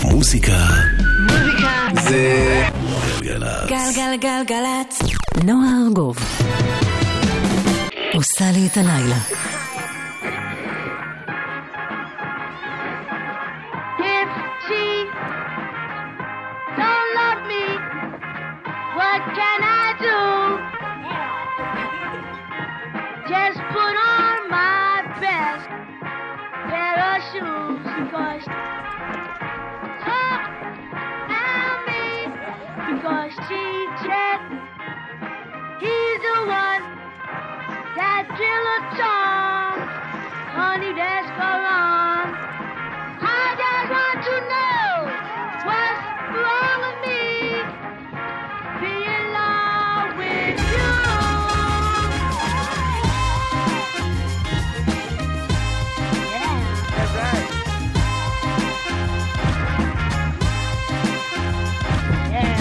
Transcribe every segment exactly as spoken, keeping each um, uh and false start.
מוזיקה. מוזיקה. זה גלגלצ. גלגלגלגלצ. נועה ארגוב עושה לי את הלילה. If she don't love me, what can I do? Just put on my best pair of shoes, because tell me, because she said he's the one that drill a song, honey, that's go on. I just want to know what's wrong with me, be in love with you. Yeah, that's right. Yeah.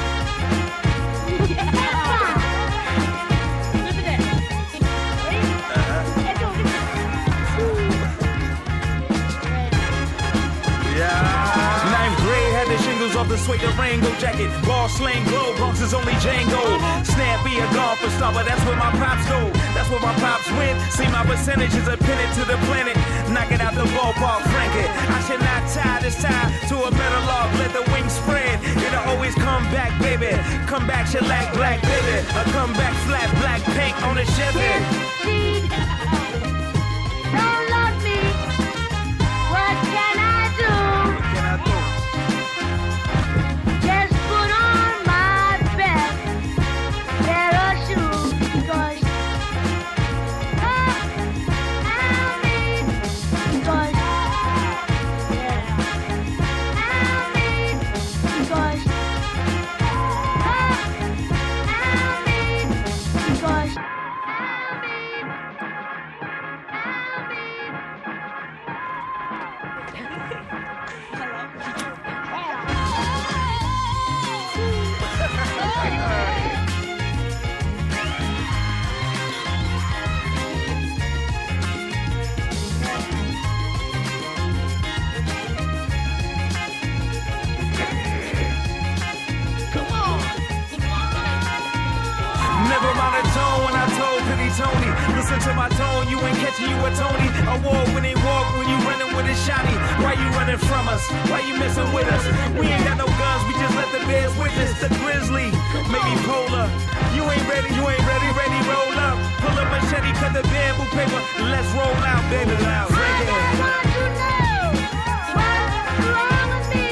Off the suede Rango jacket, ball slang glow, Bronx is only Django. Snappy a golfer star, but that's where my pops go. That's where my pops win. See my percentages are pinned to the planet. Knock it out the ballpark, frank it. I should not tie this tie to a metal log. Let the wings spread. It'll always come back, baby. Come back, shellac, black, baby. A come back, flat, black paint on the Chevy. She don't love me. What can I do? What can I do? Just put on my best pair of shoes, because oh, tell me, because yeah, tell me, because oh, tell me, because tell me, Never mind the tone when I told Penny Tony. Listen to my tone, you ain't catching you a Tony. Award-winning walk when you running with a shotty. Why you running from us? Why you messing with us? We ain't got no guns, we just let the bears witness. The grizzly, maybe polar. You ain't ready, you ain't ready, ready, roll up. Pull up machete, cut the bamboo paper. Let's roll out, baby, loud. I just want to know what's wrong with me.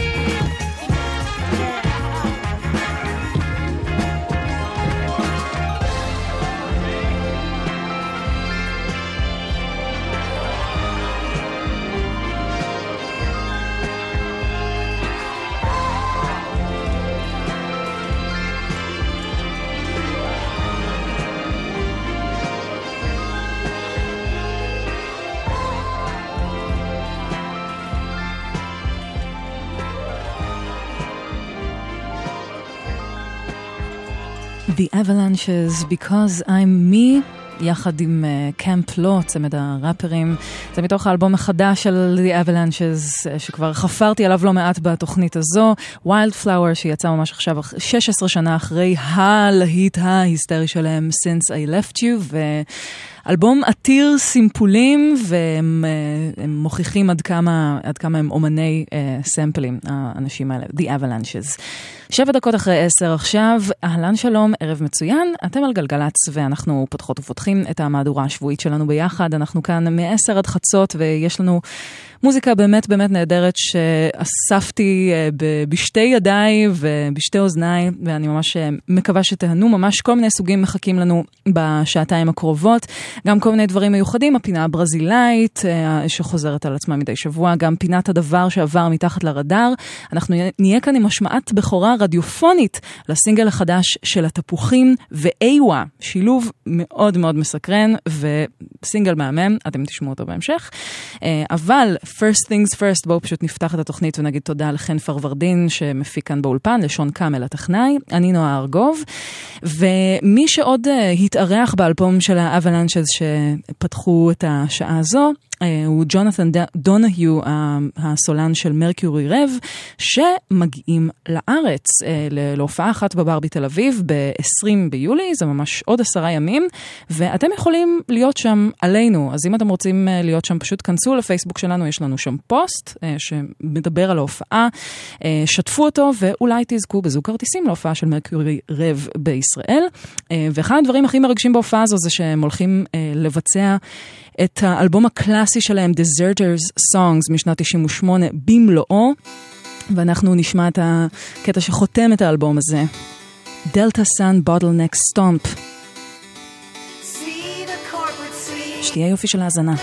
The Avalanches, Because I'm Me, יחד עם קמפ לו, צמד הראפרים. זה מתוך האלבום החדש של The Avalanches, שכבר חפרתי עליו לא מעט בתוכנית הזו, Wildflower, שיצא ממש עכשיו שש עשרה שנה אחרי הלהיט ההיסטרי שלהם, Since I Left You, ו... אלבום עתיר סימפולים, והם הם מוכיחים עד כמה, עד כמה הם אומני אה, סמפלים, האנשים האלה, The Avalanches. שבע דקות אחרי עשר עכשיו, אהלן שלום, ערב מצוין, אתם על גלגלץ, ואנחנו פותחות ופותחים את המהדורה השבועית שלנו ביחד, אנחנו כאן מעשר עד חצות, ויש לנו מוזיקה באמת באמת נהדרת, שאספתי ב- בשתי ידיי ובשתי אוזניי, ואני ממש מקווה שתהנו, ממש כל מיני סוגים מחכים לנו בשעתיים הקרובות, גם כל מיני דברים מיוחדים, הפינה הברזילאית שחוזרת על עצמה מדי שבוע, גם פינת הדבר שעבר מתחת לרדאר. אנחנו נהיה כאן עם השמעת בכורה רדיופונית לסינגל החדש של התפוחים ואיווה, שילוב מאוד מאוד מסקרן וסינגל מהמם, אתם תשמעו אותו בהמשך. אבל first things first, בואו פשוט נפתח את התוכנית ונגיד תודה לחן פרוורדין שמפיק כאן באולפן, לשון קאמל הטכנאי, אני נועה ארגוב, ומי שעוד התארח באלבום של האבלנצ'ז שפתחו את השעה הזו, הוא ג'ונתן דונהיו, הסולן של מרקיורי רב, שמגיעים לארץ להופעה אחת בבר בתל אביב ב-עשרים ביולי, זה ממש עוד עשרה ימים, ואתם יכולים להיות שם עלינו, אז אם אתם רוצים להיות שם פשוט כנסו לפייסבוק שלנו, יש לנו שם פוסט שמדבר על ההופעה, שתפו אותו ואולי תזכו בזוג כרטיסים להופעה של מרקיורי רב בישראל, ואחד הדברים הכי מרגשים בהופעה הזו זה שהם הולכים לבצע את האלבום הקלאסי שלהם, Deserters Songs, משנת תשעים ושמונה, במלואו, ואנחנו נשמע את הקטע שחותם את האלבום הזה. Delta Sun Bottleneck Stomp. שתהיה יופי של האזנה.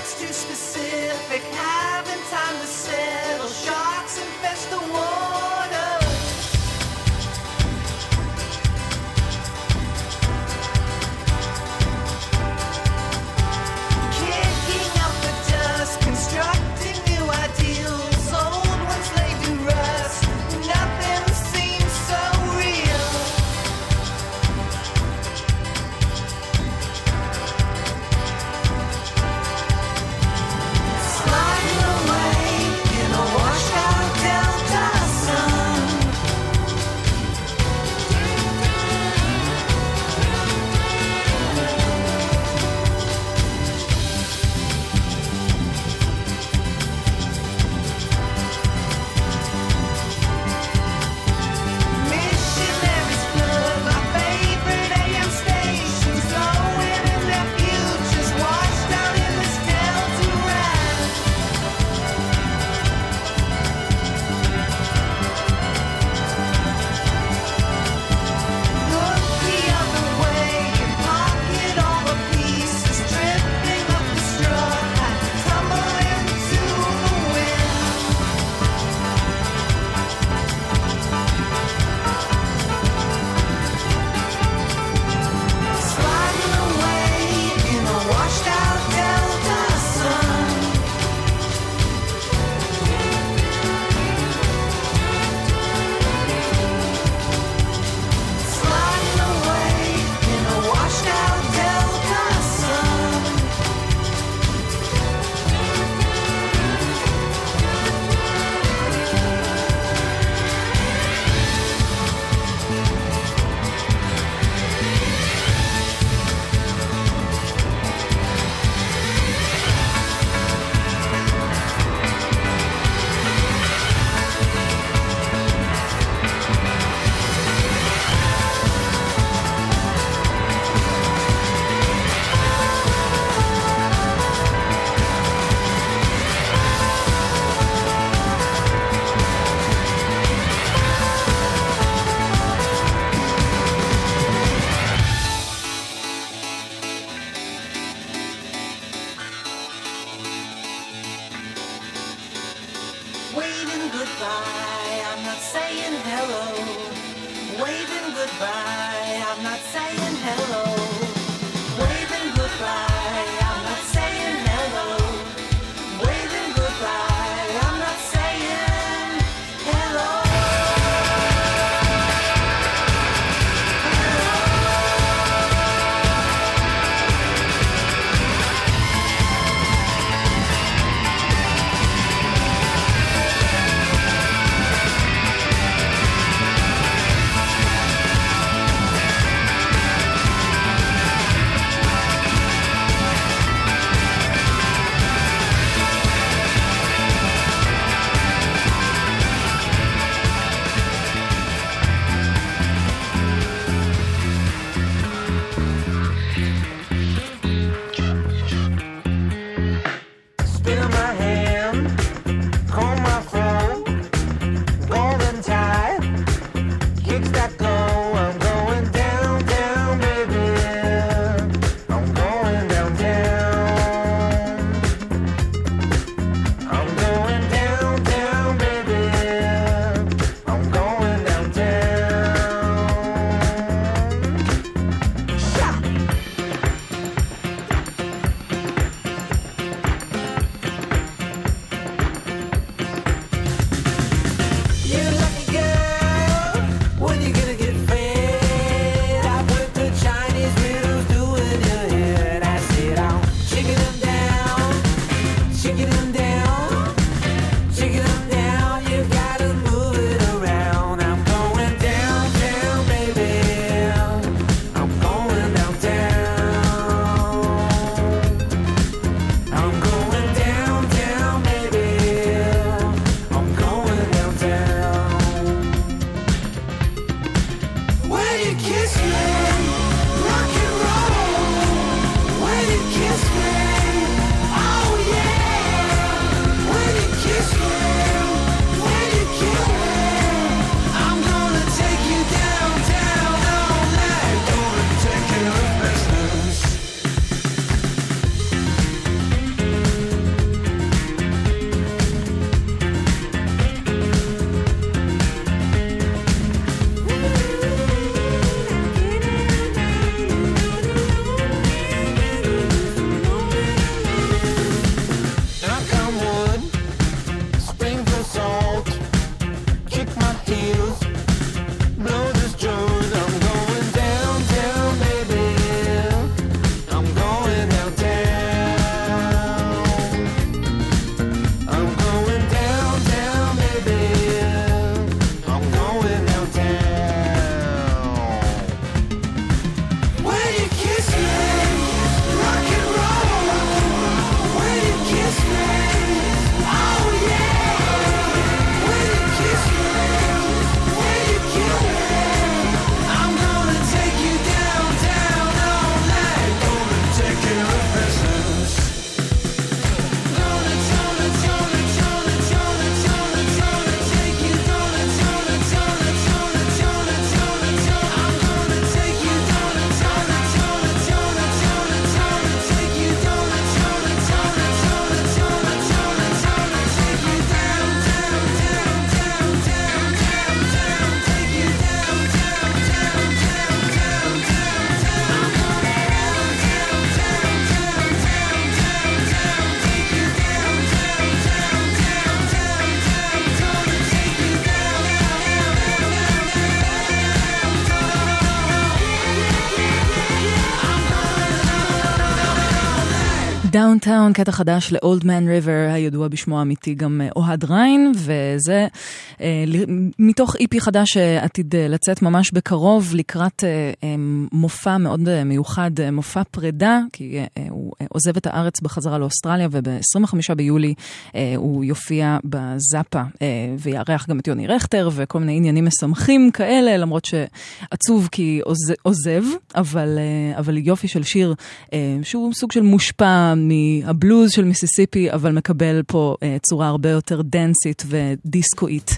Downtown, קטע חדש ל-Old Man River, הידוע בשמו האמיתי גם אוהד ריין, וזה אה, מתוך איפי חדש שעתיד לצאת ממש בקרוב, לקראת אה, אה, מופע מאוד מיוחד, אה, מופע פרידה, כי אה, הוא אה, עוזב את הארץ בחזרה לאוסטרליה, וב-עשרים וחמישה ביולי אה, הוא יופיע בזאפה, אה, ויערך גם את יוני רכטר, וכל מיני עניינים משמחים כאלה, למרות שעצוב כי עוז, עוזב, אבל, אה, אבל יופי של שיר, אה, שהוא סוג של מושפע מהבלוז של מיסיסיפי, אבל מקבל פה uh, צורה הרבה יותר דנסית ודיסקואית.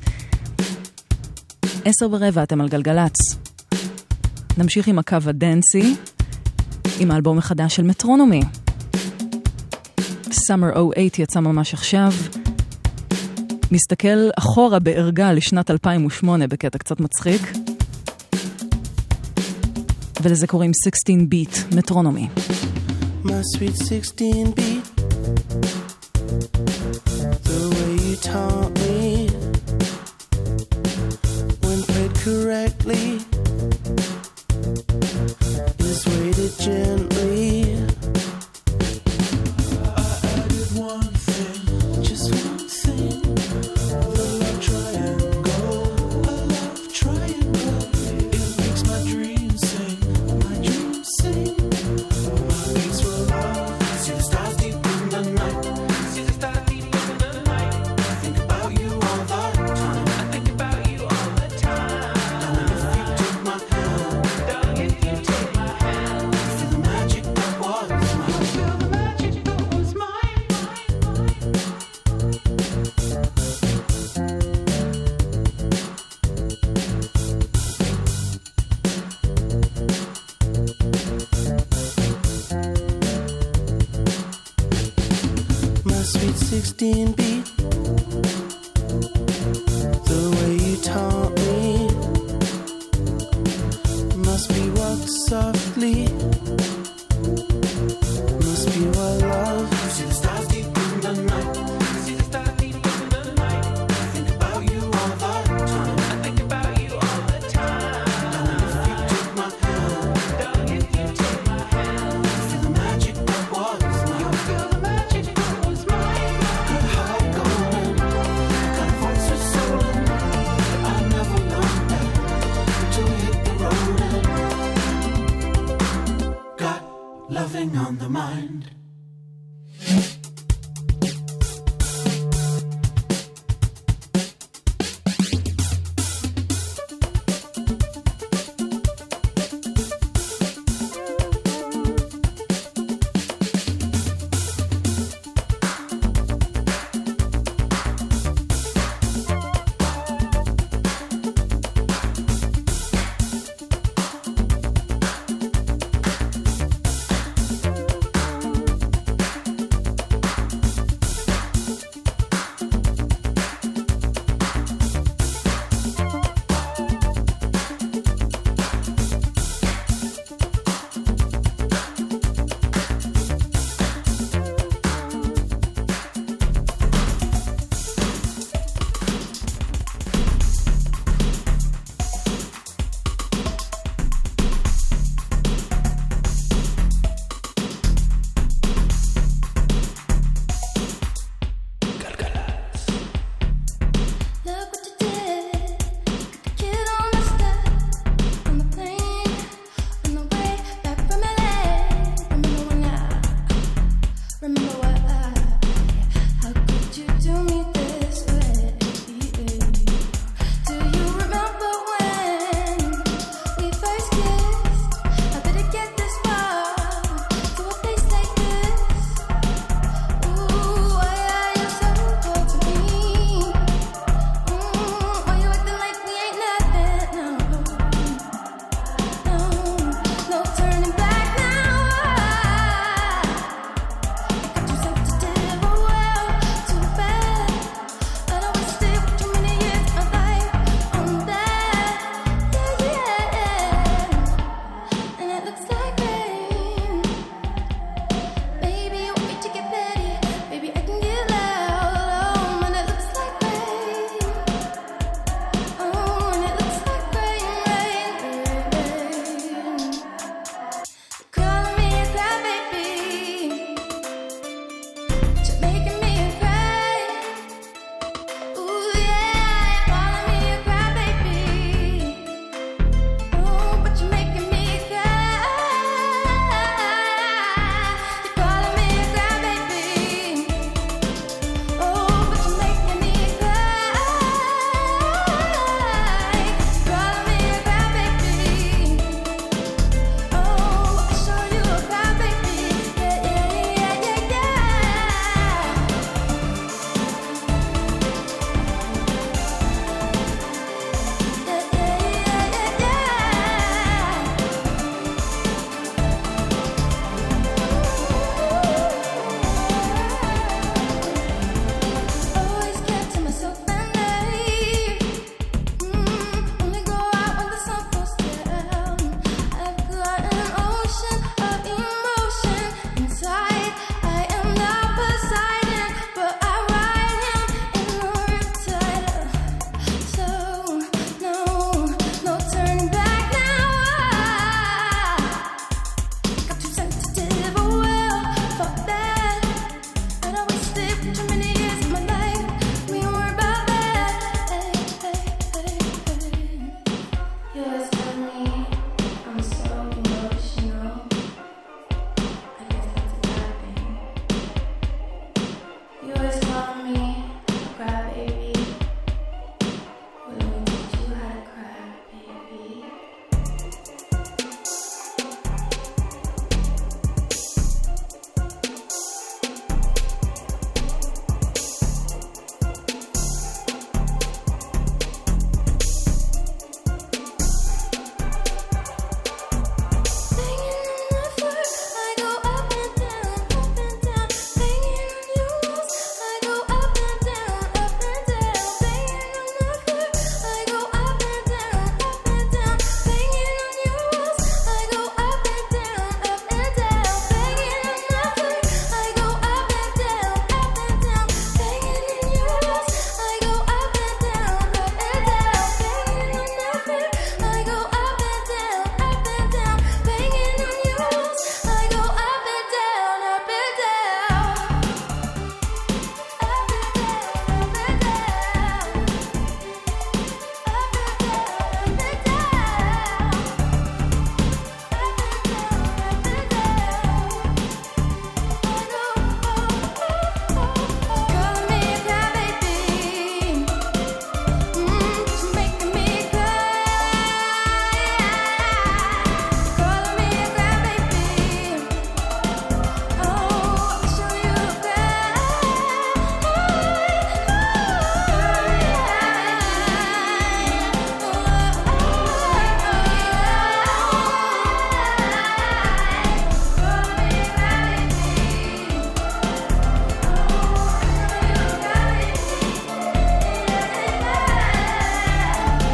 עשר ורבע, אתם על גלגלץ. נמשיך עם הקו הדנסי, עם האלבום החדש של מטרונומי. Summer oh eight יצא ממש עכשיו. מסתכל אחורה בערגה לשנת אלפיים ושמונה בקטע קצת מצחיק. ולזה קוראים sixteen beat, מטרונומי. My sweet sixteen beat, the way you taught me, when played correctly, is weighted gently. I added one thing, just one thing, the love triangle, a love triangle. It makes my dreams sing, my dreams sing. sixteen beat, the way you taught me, must be walked softly, must be what love. You see the stars deep in the night, you see the stars deep in the night. I think about you all the time, I think about you all the time. Darling, if you took my hand, darling, if you take my hand, you feel the magic that was mine. You feel the magic that was mine. Loving on the mind.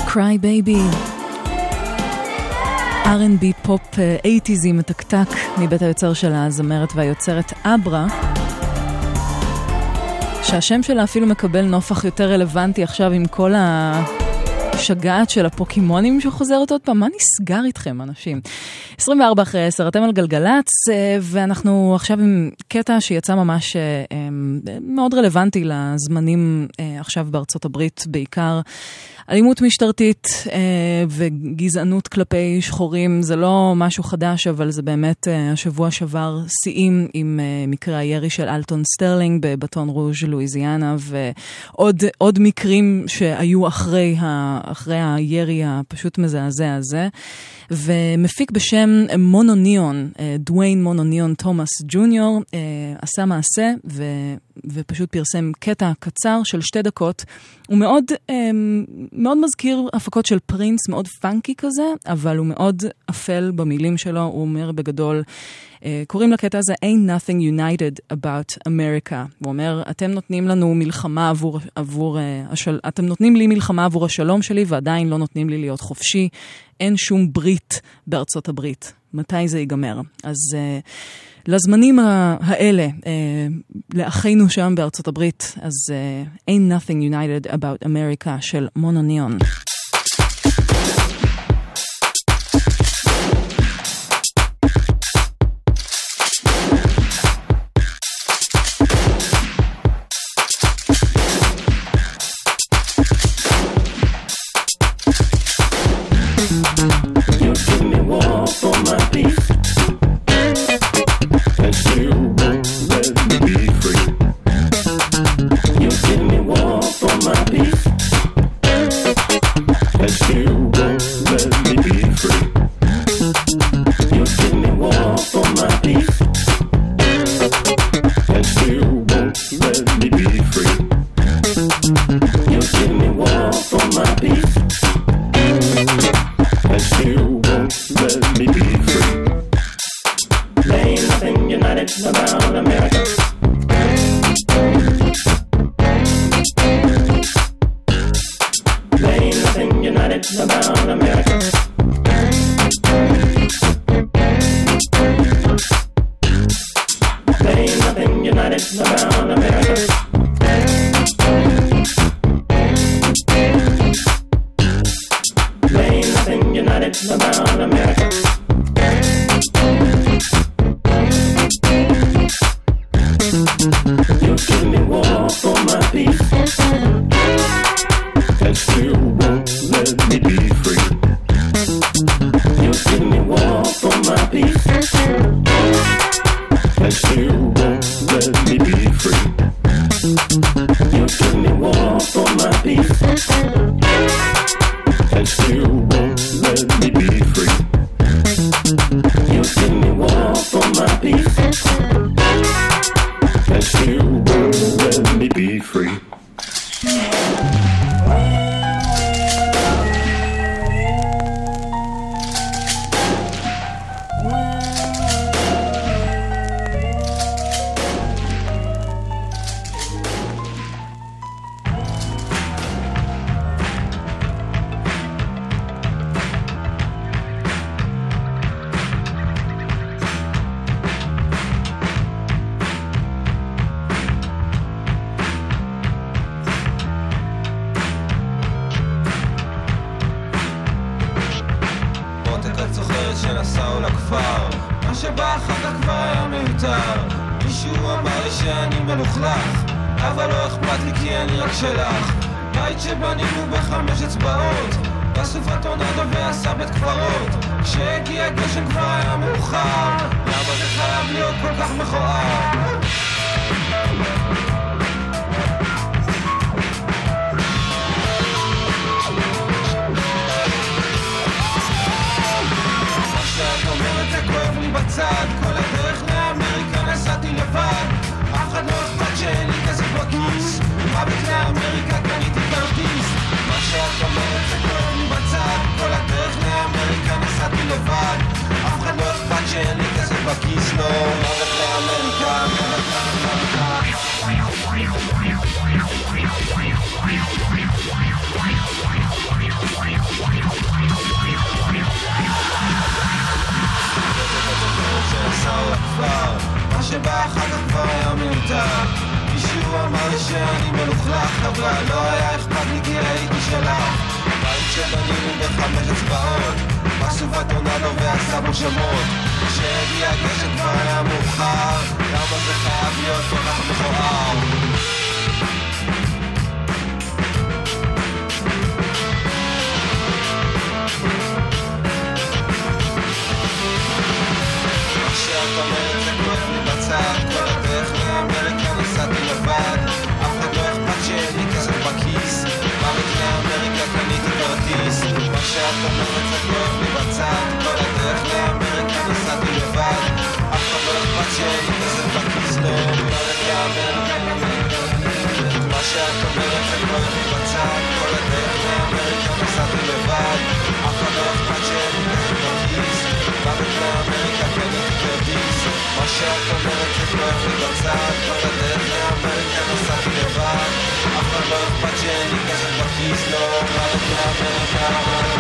Cry Baby. אר אנד בי פופ אייטיזי מתקתק מבית היוצר של הזמרת והיוצרת אברה, שהשם שלה אפילו מקבל נופח יותר רלוונטי עכשיו עם כל השגעת של הפוקימונים שחוזרת עוד פעם. מה נסגר איתכם, אנשים? עשרים וארבע אחרי עשר, אתם על גלגלץ, ואנחנו עכשיו עם קטע שיצא ממש מאוד רלוונטי לזמנים עכשיו בארצות הברית, בעיקר אלימות משטרתית אה, וגזענות כלפי שחורים. זה לא משהו חדש, אבל זה באמת אה, השבוע שבר שיאים עם אה, מקרה הירי של אלטון סטרלינג בבטון רוז' לואיזיאנה, ועוד עוד מקרים שהיו אחרי, ה, אחרי הירי הפשוט מזעזע הזה. ומפיק בשם מונוניון, אה, דוויין מונוניון תומאס ג'וניור, אה, עשה מעשה ו... ופשוט פרסם קטע קצר של שתי דקות. הוא מאוד, מאוד מזכיר הפקות של פרינס, מאוד פאנקי כזה, אבל הוא מאוד אפל במילים שלו. הוא אומר בגדול, קוראים לקטע הזה Ain't Nothing United About America. הוא אומר, אתם נותנים לנו מלחמה עבור, עבור השל... אתם נותנים לי מלחמה עבור השלום שלי, ועדיין לא נותנים לי להיות חופשי. אין שום ברית בארצות הברית. מתי זה ייגמר? אז לזמנים האלה, לאחינו שם בארצות הברית, אז Ain't Nothing United About America של מונוניון. שאין לי כסף בכיס, לא, מוות לאמריקה, מוות לאמריקה. לך, אבל לא היה אכפת לי כי הייתי שלך. בית שבנינו בחמש אצבעות, משהו בטורנדו ועשה בו שמות. כשהגיע הגשם כבר היה מאוחר, למה זה חייב להיות כל כך מכוער? מה שאת אומרת זה כואב לי בצד, כל הדרך לאמריקה נסעתי לבד, אף אחד לא אכפת שאין לי כסף בכיס, בארץ לאמריקה קניתי כרטיס. מה שאת אומרת זה כואב לי בצד, כל הדרך לאמריקה נסעתי לבד, אף אחד לא אכפת שאין לי כסף בכיס, לא בארץ לאמריקה. מה שאת אומרת זה כואב לי בצד, כל הדרך לאמריקה נסעתי לבד, אף אחד לא אכפת שאין לי כסף בכיס, בארץ לאמריקה קניתי כרטיס. מה שאת אומרת זה כואב לי בצד, כל הדרך לאמריקה נסעתי לבד, אף אחד לא אכפת שאין לי כסף בכיס, לא בארץ לאמריקה.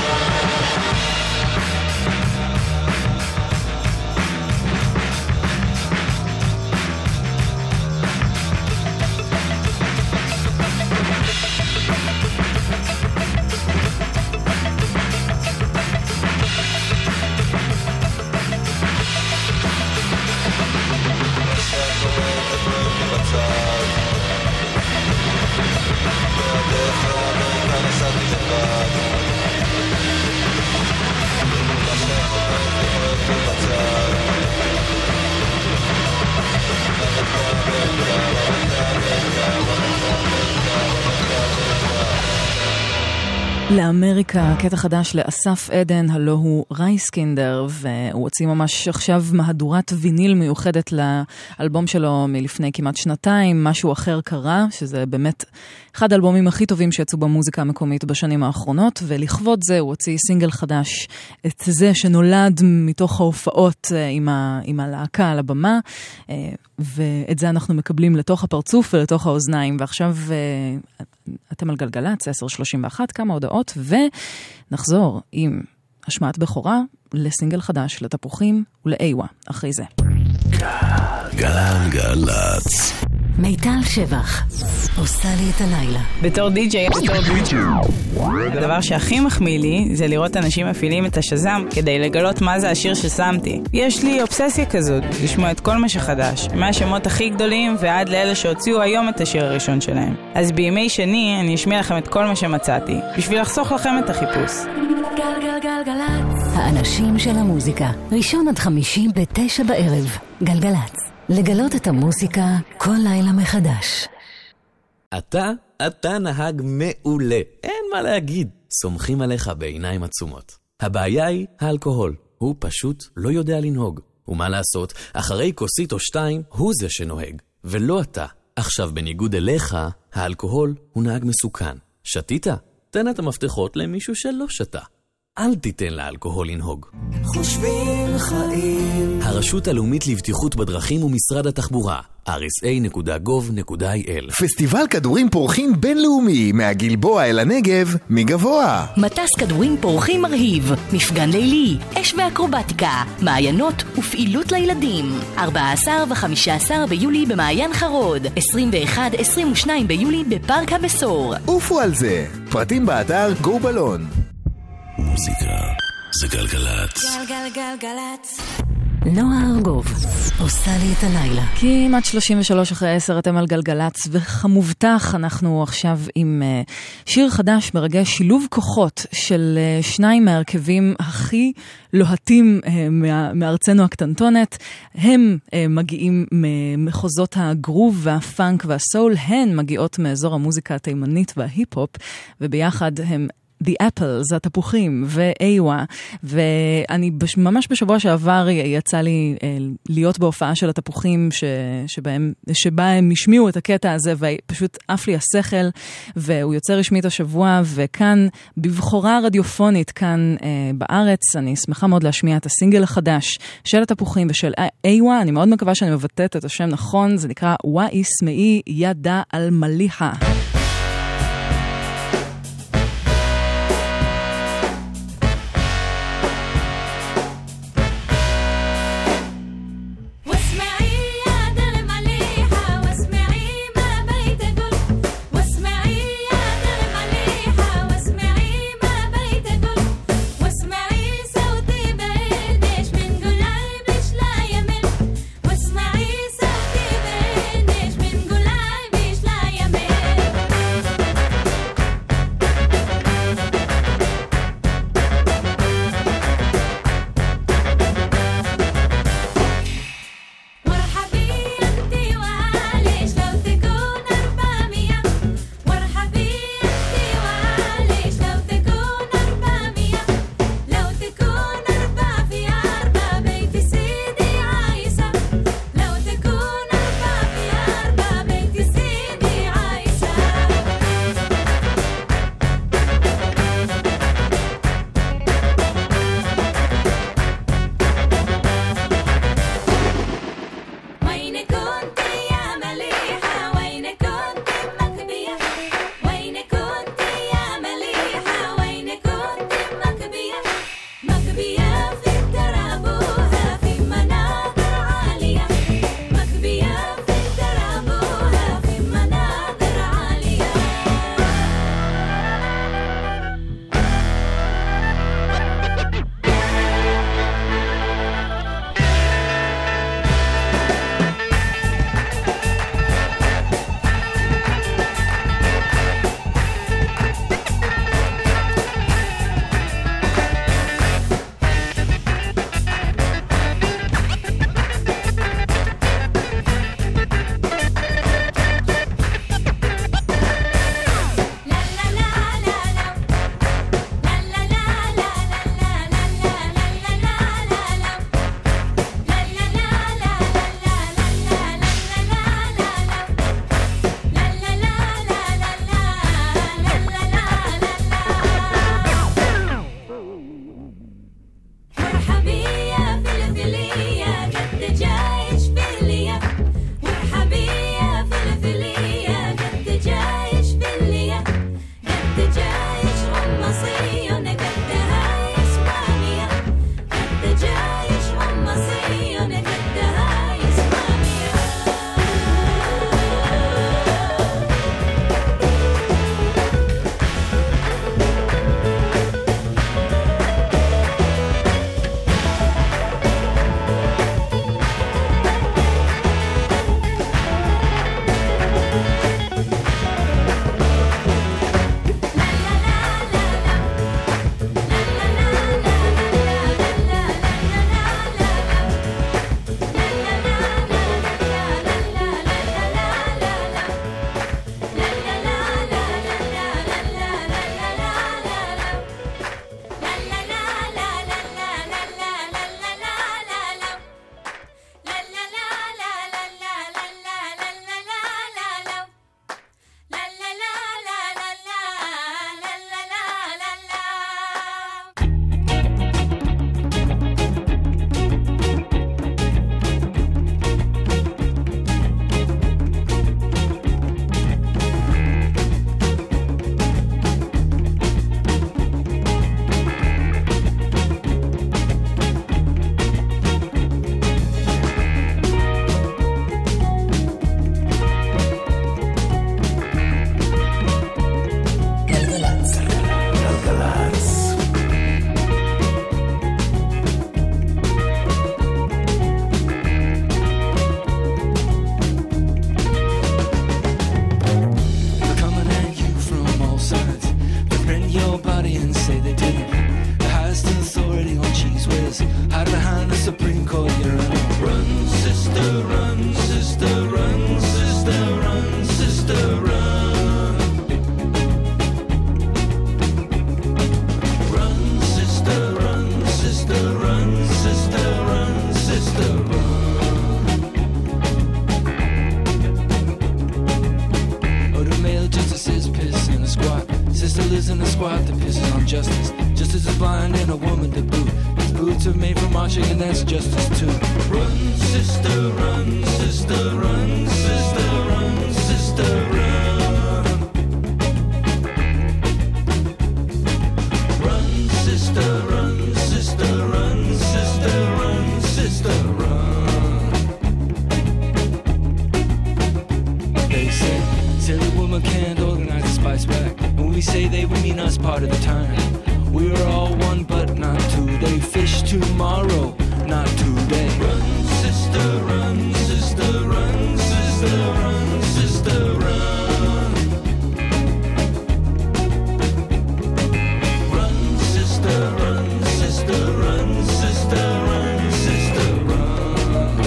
לאמריקה, קטע חדש לאסף עדן, הלא הוא רייסקינדר, והוא הוציא ממש עכשיו מהדורת ויניל מיוחדת לאלבום שלו מלפני כמעט שנתיים, משהו אחר קרה, שזה באמת אחד האלבומים הכי טובים שיצאו במוזיקה המקומית בשנים האחרונות, ולכבוד זה הוא הוציא סינגל חדש, את זה שנולד מתוך ההופעות עם, ה, עם הלהקה על הבמה, ואת זה אנחנו מקבלים לתוך הפרצוף ולתוך האוזניים, ועכשיו אתם על גלגלץ, עשר שלושים ואחת, כמה הודעות, ונחזור עם השמעת בכורה לסינגל חדש, לתפוחים ולאיווה, אחרי זה. גלגלץ. מיטל שבח עושה לי את הלילה. בתור די-ג'יי, בתור די-ג'יי. הדבר שהכי מחמיא לי זה לראות אנשים מפעילים את השזם כדי לגלות מה זה השיר ששמתי. יש לי אובססיה כזאת, לשמוע את כל מה שחדש, מהשמות הכי גדולים ועד לאלה שהוציאו היום את השיר הראשון שלהם. אז בימי שני אני אשמיע לכם את כל מה שמצאתי, בשביל לחסוך לכם את החיפוש. גלגלגלגלץ. האנשים של המוזיקה, ראשון עד חמישי בתשע בערב. גלגלץ. לגלות את המוזיקה כל לילה מחדש. אתה, אתה נהג מעולה. אין מה להגיד. סומכים עליך בעיניים עצומות. הבעיה היא האלכוהול. הוא פשוט לא יודע לנהוג. ומה לעשות, אחרי כוסית או שתיים, הוא זה שנוהג. ולא אתה. עכשיו בניגוד אליך, האלכוהול הוא נהג מסוכן. שתית? תן את המפתחות למישהו שלא שתה. אל תיתן לאלכוהול לנהוג. חושבים חיים. הרשות הלאומית לבטיחות בדרכים ומשרד התחבורה, אר אס איי נקודה גוב נקודה איי אל. פסטיבל כדורים פורחים בינלאומי, מהגלבוע אל הנגב, מגבוה. מטס כדורים פורחים מרהיב, מפגן לילי, אש ואקרובטיקה, מעיינות ופעילות לילדים. ארבעה עשר וחמישה עשר ביולי במעיין חרוד, עשרים ואחד עשרים ושניים ביולי בפארק הבשור. עופו על זה, פרטים באתר גו בלון. מוזיקה זה גלגלץ. גלגלגלגלץ. נועה ארגוב עושה לי את הלילה. כמעט שלושים ושלוש אחרי עשר אתם על גלגלץ, וכמובטח אנחנו עכשיו עם uh, שיר חדש מרגש, שילוב כוחות של uh, שניים מהרכבים הכי לוהטים uh, מה, מארצנו הקטנטונת. הם uh, מגיעים ממחוזות הגרוב והפאנק והסול, הן מגיעות מאזור המוזיקה התימנית וההיפ-הופ, וביחד הם The Apples, התפוחים, ואיווה, ואני בש, ממש בשבוע שעבר יצא לי אה, להיות בהופעה של התפוחים, ש, שבהם, שבה הם השמיעו את הקטע הזה, ופשוט עף לי השכל, והוא יוצא רשמית השבוע, וכאן בבחורה רדיופונית, כאן אה, בארץ, אני שמחה מאוד להשמיע את הסינגל החדש של התפוחים ושל איווה, אני מאוד מקווה שאני מבטאת את השם נכון, זה נקרא וואה איסמאי ידה על מליחה. واسمعي يا دل مليحة واسمعي ما بيت أقول واسمعي justice. Justice is blind and a woman to boot. These boots are made for marching and that's justice too. Run, sister, run, sister, run, sister, run, sister, run. Run, sister, run, sister, run, sister, run, sister, run. They say, silly woman can't organize a spice rack. When we say they, we mean us part of the time. We're all one, but not today. Fish tomorrow, not today. Run, sister, run, sister, run, sister, run, sister, run. Run, sister, run, sister, run, sister, run, sister, run.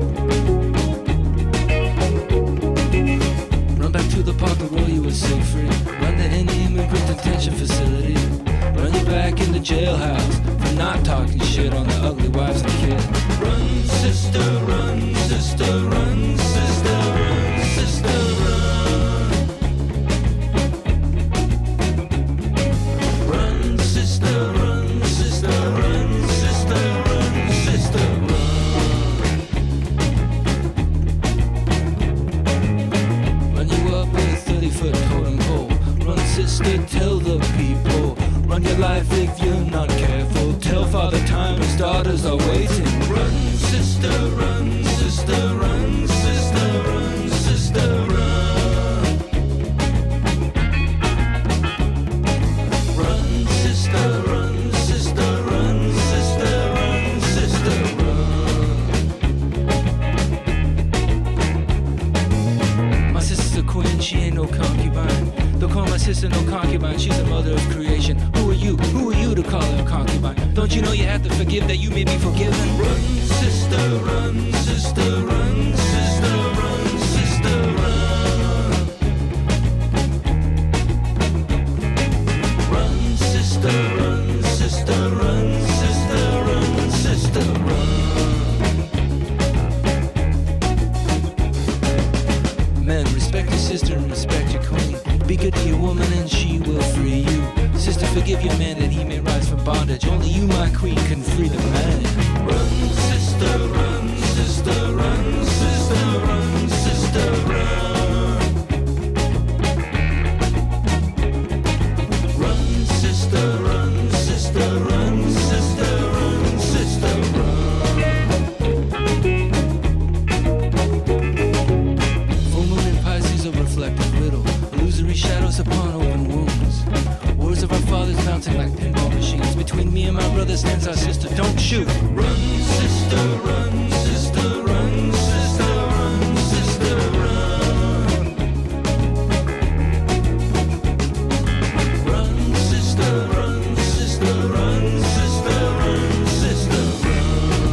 Run back to the park and roll you was so free. Run to any immigrant detention facility. Run you back in the jailhouse for not talking shit on the ugly wives and kids. Run, sister, run, sister, run, sister, run, sister, run. Run, sister, run, sister, run, sister, run, sister, run. Run you up with a thirty-foot totem pole. Run, sister, tell the people. Run your life if you're not careful. Tell Father Time his daughters are waiting. Run, sister, run, sister, run, sister, run, sister, run. Run, sister, run, sister, run, sister, run, sister, run. My sister's a queen, she ain't no concubine. Don't call my sister no concubine, she's the mother of creation. Who are you? Who are you to call her a concubine? Don't you know you have to forgive that you may be forgiven? Run, sister, run, sister, run, sister, run, sister, run. Run, sister, run, sister, run, sister, run, sister, run. Men, respect your sister and respect your queen. Be good to your woman and she will free you. Sister, forgive your man that he may rise from bondage. Only you, my queen, can free the man. Run, sister, run, sister, run, sister, run, sister, run. Run, sister, run, sister, run, sister, run, sister, run. Full moon in Pisces, a reflective riddle. Illusory shadows upon open wounds. Words of our fathers bouncing like pinball machines. Between me and my brother stands our sister. Don't shoot. Run, sister, run, sister, run, sister, run, sister, run. Run, sister, run, sister, run, sister, run, sister, run.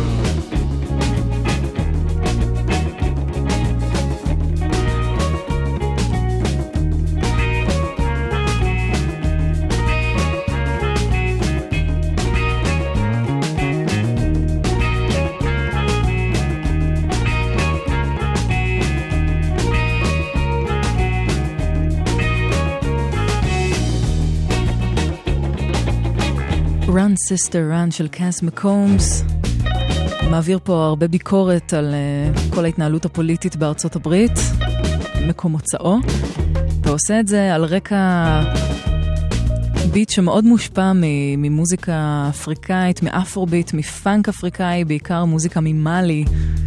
Run Sister Run של קאס מקומס מעביר פה הרבה ביקורת על uh, כל ההתנהלות הפוליטית בארצות הברית, מקום מוצאו, ועושה את זה על רקע ביט שמאוד מושפע ממוזיקה אפריקאית, מאפרוביט, מפאנק אפריקאי, בעיקר מוזיקה ממאלי.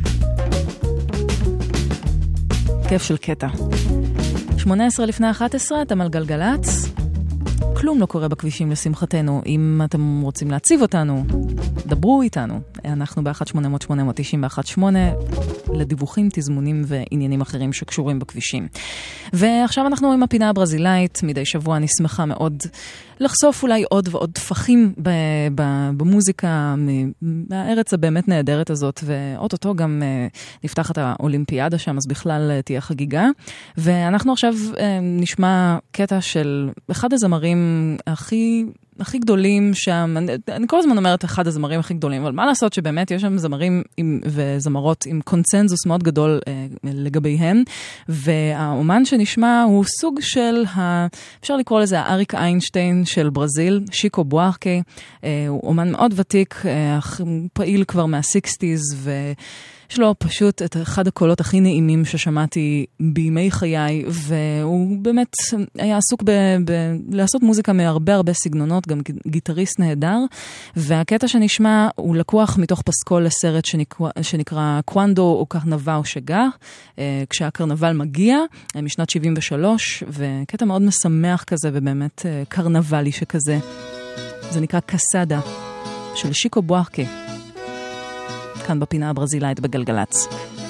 כיף של קטע. שמונה עשרה לפני אחת עשרה, אתם על גלגלץ. כלום לא קורה בכבישים לשמחתנו. אם אתם רוצים להציב אותנו, דברו איתנו. אנחנו ב-אחת שמונה אפס אפס שמונה תשע אחת שמונה לדיווחים, תזמונים ועניינים אחרים שקשורים בכבישים. ועכשיו אנחנו עם הפינה הברזילאית. מדי שבוע אני שמחה מאוד לחשוף אולי עוד ועוד תפחים ב- ב- במוזיקה מהארץ הבאמת נהדרת הזאת, ואוטוטו גם נפתחת האולימפיאדה שם, אז בכלל תהיה חגיגה. ואנחנו עכשיו נשמע קטע של אחד הזמרים הכי הכי גדולים שם, אני, אני כל הזמן אומרת אחד הזמרים הכי גדולים, אבל מה לעשות שבאמת יש שם זמרים עם, וזמרות עם קונצנזוס מאוד גדול אה, לגביהם, והאומן שנשמע הוא סוג של, ה, אפשר לקרוא לזה האריק איינשטיין של ברזיל, שיקו בוארקה, אה, הוא אומן מאוד ותיק, אה, פעיל כבר מה-סיקסטיז, ו... יש לו פשוט את אחד הקולות הכי נעימים ששמעתי בימי חיי, והוא באמת היה עסוק ב- ב- לעשות מוזיקה מהרבה הרבה סגנונות, גם גיטריסט נהדר, והקטע שנשמע הוא לקוח מתוך פסקול לסרט שנקרא, שנקרא קוונדו או קרנבל או שגה, כשהקרנבל מגיע, משנת שבעים ושלוש, וקטע מאוד משמח כזה ובאמת קרנבלי שכזה. זה נקרא קסדה של שיקו בוארקה. כאן בפינה הברזילאית בגלגלץ.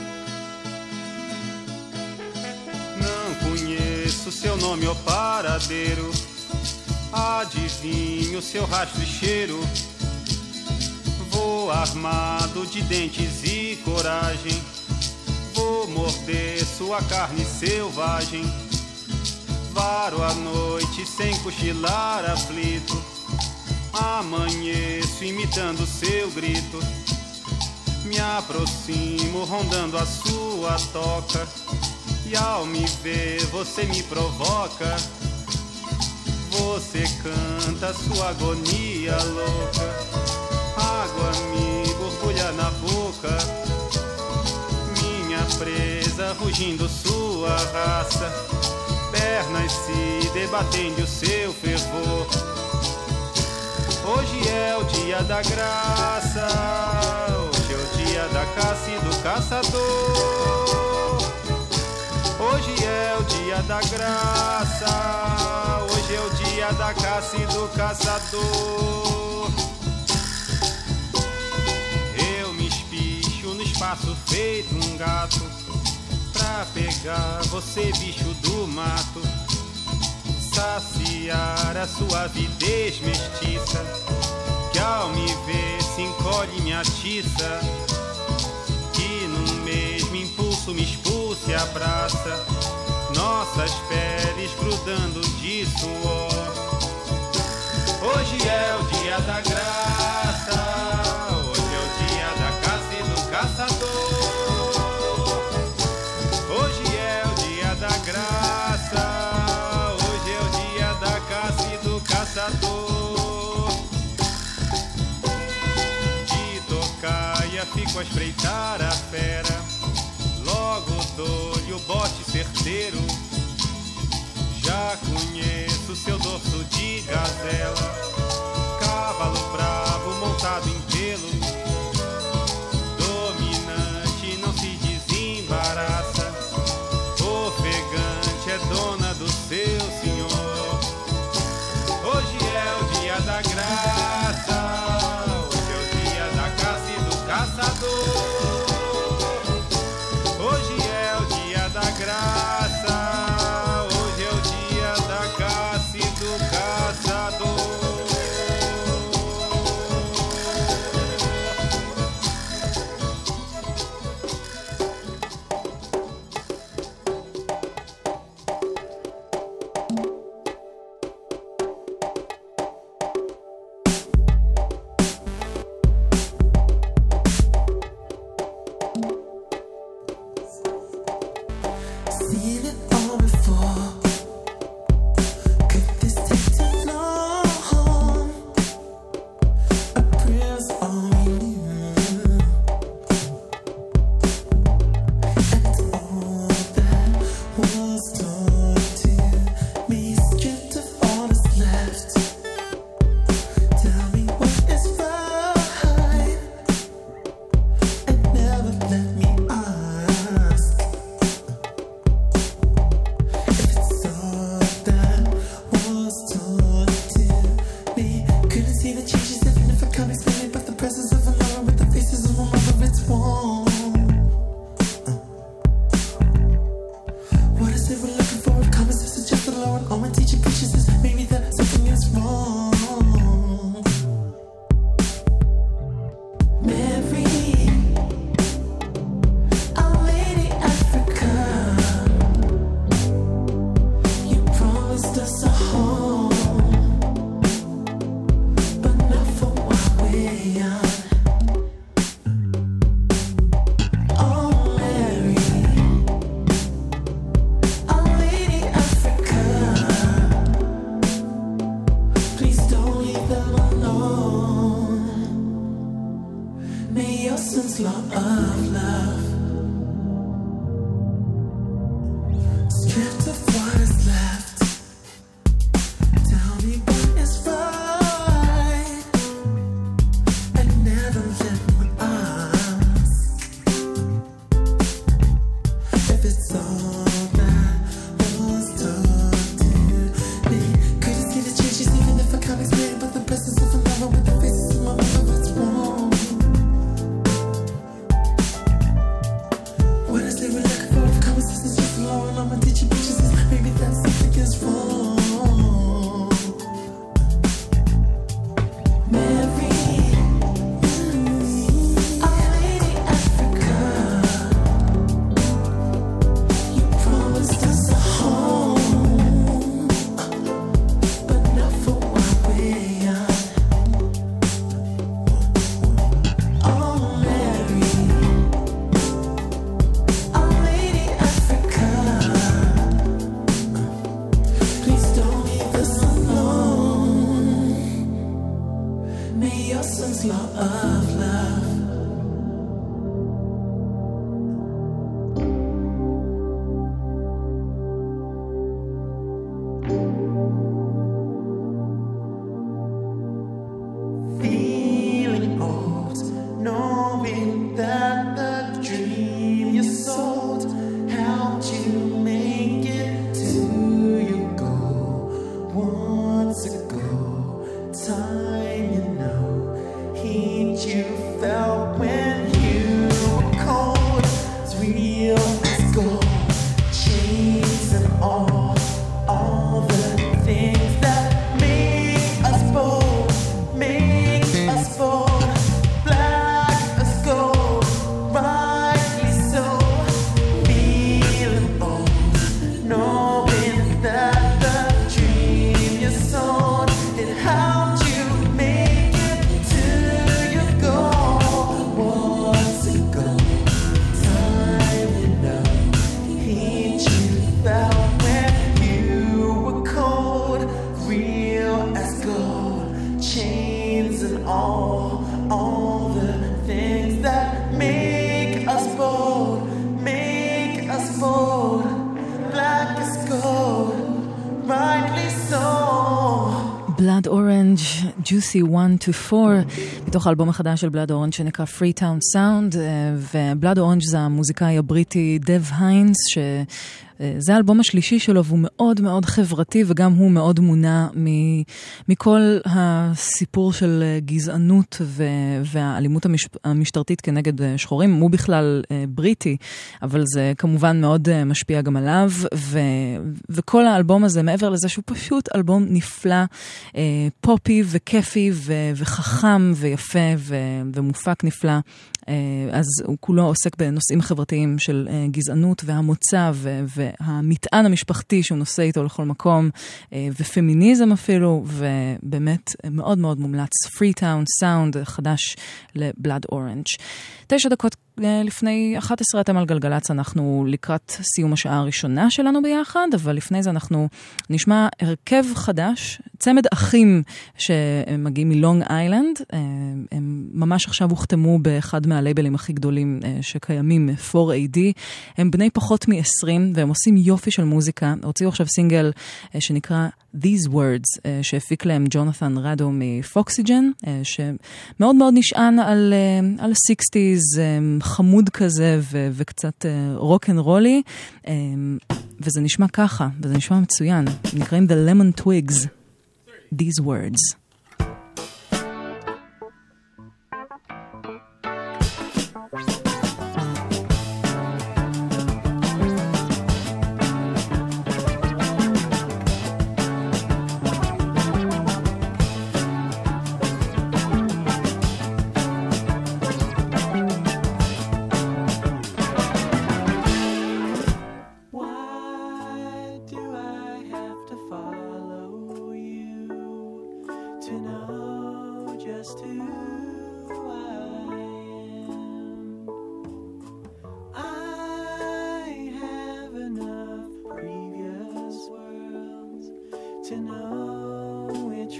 Não conheço seu nome ou paradeiro, adivinho seu rastro e cheiro. Vou armado de dentes e coragem, vou morder sua carne selvagem. Varo a noite sem cochilar aflito, amanheço imitando seu grito. Me aproximo rondando a sua toca, e ao me ver você me provoca. Você canta sua agonia louca, água me borbulha na boca. Minha presa rugindo sua raça, pernas se debatendo o seu fervor. Hoje é o dia da graça, hoje é o dia da caça e do caçador. Hoje é o dia da graça, hoje é o dia da caça e do caçador. Eu me espicho no espaço feito um gato, pra pegar você, bicho do mato, saciar a sua avidez mestiça, que ao me ver se encolhe e me atiça, que num mesmo impulso me expulsa e abraça, nossas peles grudando de suor. Hoje é o dia da graça, hoje é o dia da caça e do caçador. Hoje é o dia da graça, caçador. De tocaia fico a espreitar a fera, logo dou-lhe o bote certeiro. Já conheço seu dorso de gazela, cavalo bravo montado em pelo, dominante não se desembaraça, ofegante é dona do seu senhor. Hoje é o dia da graça, hoje é o dia da caça e do caçador. Hoje é o dia da graça, hoje é o dia da caça e do caçador. law of love. Stripped of what is left. Tell me what is right, and never let me ask if it's all that was told to me. Could you see the changes even if I can't explain? But the presence of a lover with the faces of my mother, it's wrong. What is it we're looking for? If conversations just low and I'm teaching pictures, maybe that's something is wrong. Mary, our lady Africa, you promised us a home, but not for what we're on. Oh, Mary, our lady Africa, please don't leave us alone. May your son's law of love. Feeling old, knowing that the dream you sold helped you make it to your goal. Once ago, time you know, heat you felt when you were cold. It's real as gold, chains and all, all the things that make us bold, make us bold, black as gold, rightly so. Feeling old, knowing that the dream you sold, it helped you make it to your goal. Once ago, time you know, heat you felt when you were cold, real as gold, chains and all, all the things that make us bold, make us bold, black as gold, rightly so. Blood Orange, Juicy one to four, מתוך האלבום החדש של Blood Orange שנקרא Freetown Sound, ו-Blood Orange זה המוזיקאי הבריטי דב היינס, ש... זה האלבום השלישי שלו, והוא מאוד מאוד חברתי, וגם הוא מאוד מונע מכל הסיפור של גזענות והאלימות המשטרתית כנגד שחורים. הוא בכלל בריטי, אבל זה כמובן מאוד משפיע גם עליו, וכל האלבום הזה, מעבר לזה שהוא פשוט אלבום נפלא, פופי וכיפי וחכם ויפה ומופק נפלא. אז הוא כולו עוסק בנושאים חברתיים של גזענות והמוצא והמטען המשפחתי שהוא נושא איתו לכל מקום, ופמיניזם אפילו, ובאמת מאוד מאוד מומלץ. Freetown Sound חדש לבלאד אורנג'. תשע דקות לפני אחת עשרה אתם על גלגלץ, אנחנו לקראת סיום השעה הראשונה שלנו ביחד, אבל לפני זה אנחנו נשמע הרכב חדש, צמד אחים שמגיעים מלונג איילנד, הם ממש עכשיו הוכתמו באחד מהלייבלים הכי גדולים שקיימים, פור איי די, הם בני פחות מ-עשרים, והם עושים יופי של מוזיקה, הוציאו עכשיו סינגל שנקרא These Words, שהפיק להם ג'ונתן רדו מפוקסיג'ן, שמאוד מאוד נשען על, על ה-סיקסטיז, חמוד כזה ו- וקצת רוק אנד רולי, וזה נשמע ככה, וזה נשמע מצוין, נקראים The Lemon Twigs, These Words.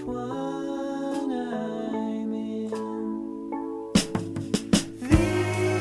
These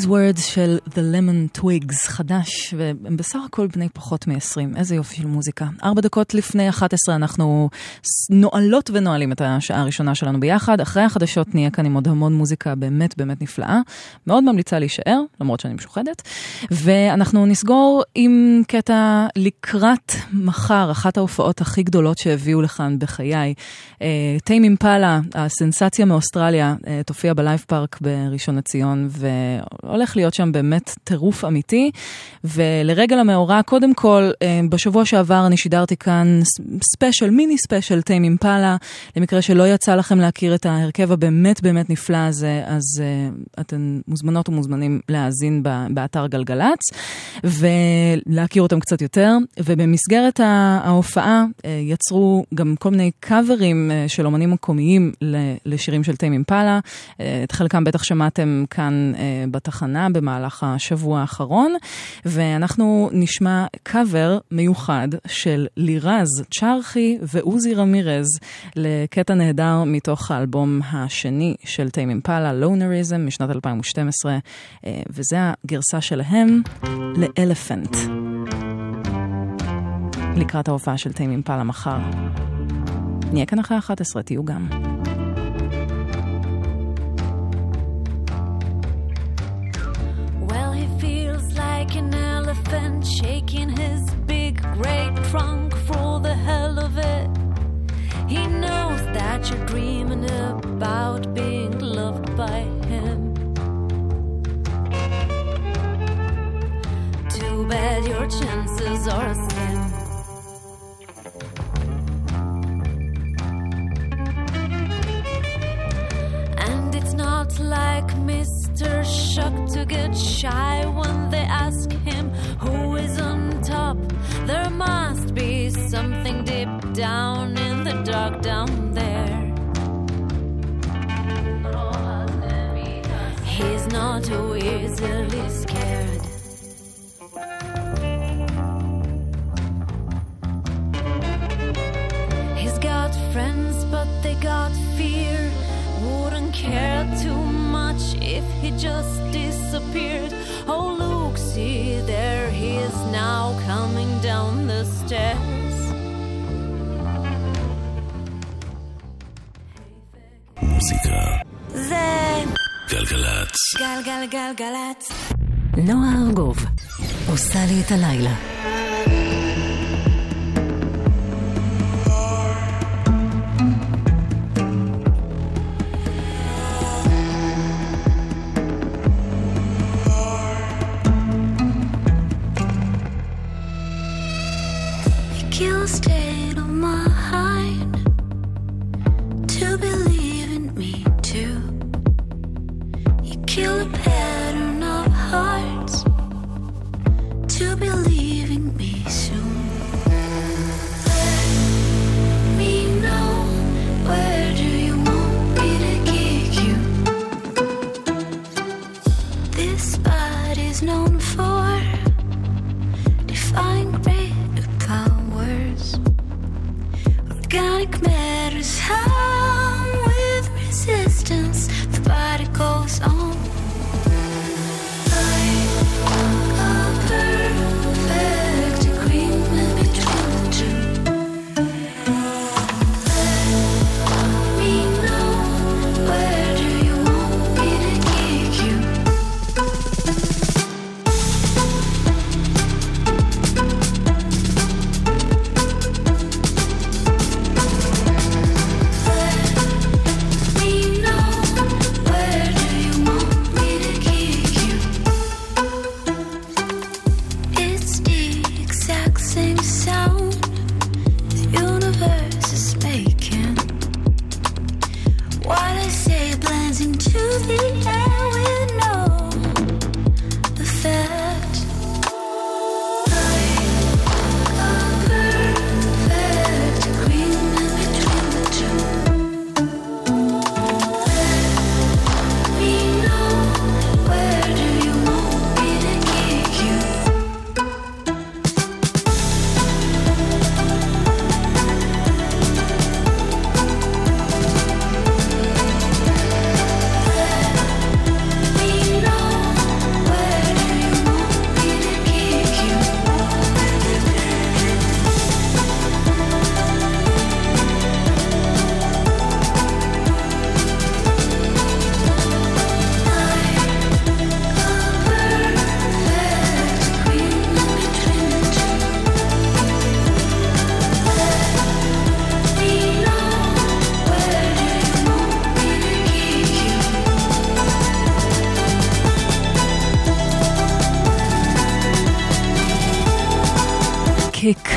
These Words של The Lemon Twigs, חדש, והם בסך הכל בני פחות מ-עשרים. איזה יופי של מוזיקה. ארבע דקות לפני אחת עשרה אנחנו נועלות ונועלים את השעה הראשונה שלנו ביחד. אחרי החדשות נהיה כאן עם עוד המון מוזיקה באמת באמת נפלאה. מאוד ממליצה להישאר, למרות שאני משוחדת. ואנחנו נסגור עם קטע לקראת מחר, אחת ההופעות הכי גדולות שהביאו לכאן בחיי. טיים אימפלה, הסנסציה מאוסטרליה, תופיע בלייב פארק בראשון לציון, והולך להיות שם באמת טירוף אמיתי. ולרגל המאורע, קודם כל, בשבוע שעבר אני שידרתי כאן ספיישל, מיני ספיישל טיים אימפלה, למקרה שלא יצא לכם להכיר את ההרכב הבאמת באמת נפלא הזה, אז uh, אתן מוזמנות ומוזמנים להאזין באתר גלגלץ, ולהכיר אותם קצת יותר. ובמסגרת ההופעה יצרו גם כל מיני קאברים של אומנים מקומיים לשירים של טיים אימפלה. את חלקם בטח שמעתם כאן בתחנה במהלך השבוע האחרון, ואנחנו נשמע קאבר מיוחד של לירז צ'רחי ועוזי רמירז לקטע נהדר מתוך האלבום השני של טיים אימפלה, לונריזם, משנת אלפיים ושתים עשרה, וזה הגרסה שלהם לאלפנט. לקראת ההופעה של טיים אימפלה מחר. נהיה כאן אחרי אחת עשרה, תהיו גם. Well, he feels like an elephant shaking his big great trunk for the hell of it. He knows that you're dreaming about being loved by him. Too bad your chances are slim. And it's not like Mister Shuck to get shy when they ask him who is on top. There must be something deep down in the dark down there. He's not too easily scared. He's got friends, but they got fear. Wouldn't care too much if he just disappeared. Oh, look, see, there he is now coming down the stairs. מוזיקה. זה גלגלצ. גלגלגלגלצ. נועה ארגוב עושה לי את הלילה. Kill state of mind to believe in me too. You kill a pattern of hearts to believe in me soon. Let me know, where do you want me to kick you? This spot is known for defying great powers. Organic matters harm with resistance. The body goes on. Like a perfect agreement between the two. Let me know, where do you want me to kick you? קיק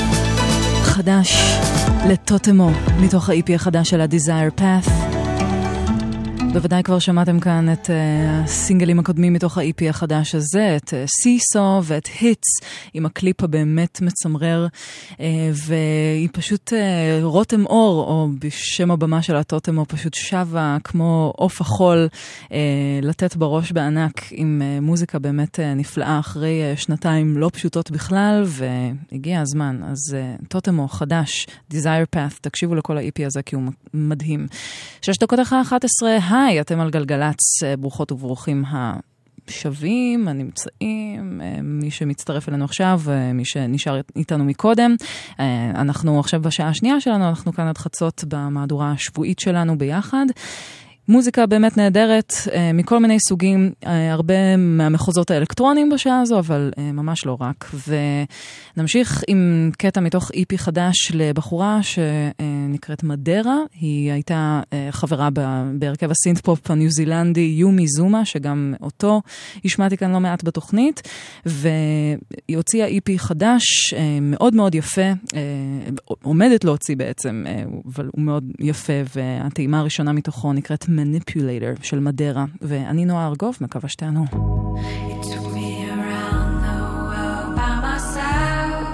חדש לטוטמו מתוך ה-E P החדש של ה-Desire Path. בוודאי כבר שמעתם כאן את uh, הסינגלים הקודמים מתוך ה-E P החדש הזה, את uh, סיסו ואת היטס, עם הקליפ הבאמת מצמרר, uh, והיא פשוט uh, רותם אור, או בשם הבמה של הטוטמו, פשוט שווה כמו עוף החול, uh, לתת בראש בענק עם uh, מוזיקה באמת uh, נפלאה, אחרי uh, שנתיים לא פשוטות בכלל, והגיע הזמן. אז uh, טוטמו חדש, Desire Path, תקשיבו לכל ה-E P הזה כי הוא מדהים. שש דקות אחרי אחת עשרה, היי, אתם על גלגלץ, ברוכות וברוכים השווים, הנמצאים, מי שמצטרף אלינו עכשיו, מי שנשאר איתנו מקודם. אנחנו עכשיו בשעה השנייה שלנו, אנחנו כאן עד חצות במהדורה השבועית שלנו ביחד. מוזיקה באמת נהדרת, מכל מיני סוגים, הרבה מהמחוזות האלקטרונים בשעה הזו, אבל ממש לא רק. ונמשיך עם קטע מתוך E P חדש לבחורה שנקראת מדרה. היא הייתה חברה בהרכב הסינט-פופ הניו זילנדי יומי זומה, שגם אותו השמעתי כאן לא מעט בתוכנית, והיא הוציאה E P חדש מאוד מאוד יפה, עומדת להוציא בעצם, אבל הוא מאוד יפה, והטעימה הראשונה מתוכו נקראת Manipulator של מדרה, ואני נועה ארגוב, מקווה שתענו. It took me around the world by myself.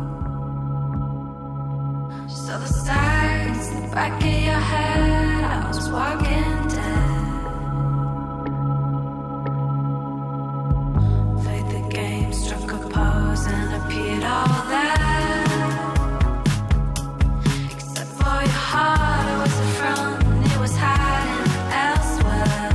Just saw the sides, the back of your head. I was walking dead. Played the game, struck a pose and appeared all there. Except for your heart, it was a front, it was hiding elsewhere.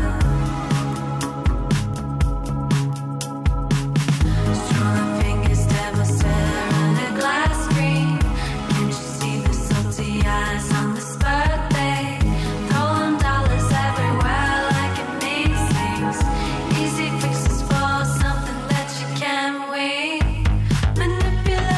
Strong fingers, devil stare in a glass screen. Can't you see the salty eyes on this birthday? Throwing dollars everywhere like it means things. Easy fixes for something that you can't win. Manipulate.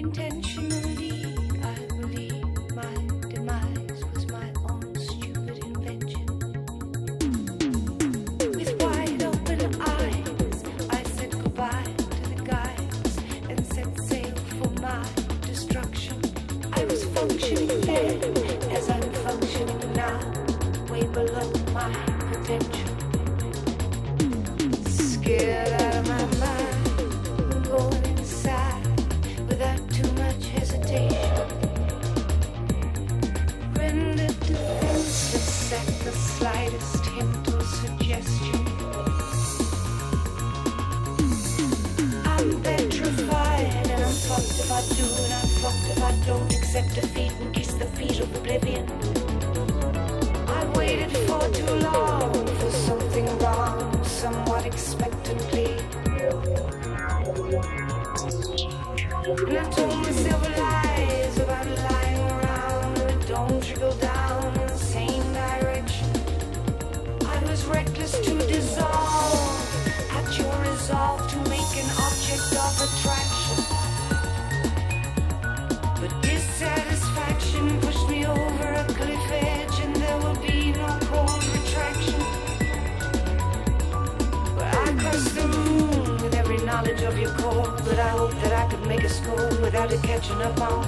Intentionally, I believe my demise was my own stupid invention. With wide open eyes, I said goodbye to the guys and set sail for my destruction. I was functioning then as I'm functioning now, way below my potential. Scared out of my mind, going inside without too much hesitation. Rendered defenseless at the slightest hint or suggestion. I'm petrified and I'm fucked if I do and I'm fucked if I don't accept defeat and kiss the feet of oblivion. I waited for too long for something wrong, somewhat expectantly. And I told myself lies about lying around and it don't trickle down in the same direction. I was reckless to dissolve at your resolve to make an object of attraction. But dissatisfaction pushed me over a cliff edge and there will be no cold retraction. But I crossed the moon with every knowledge of your core, but I hope that I could make a score without it catching up on.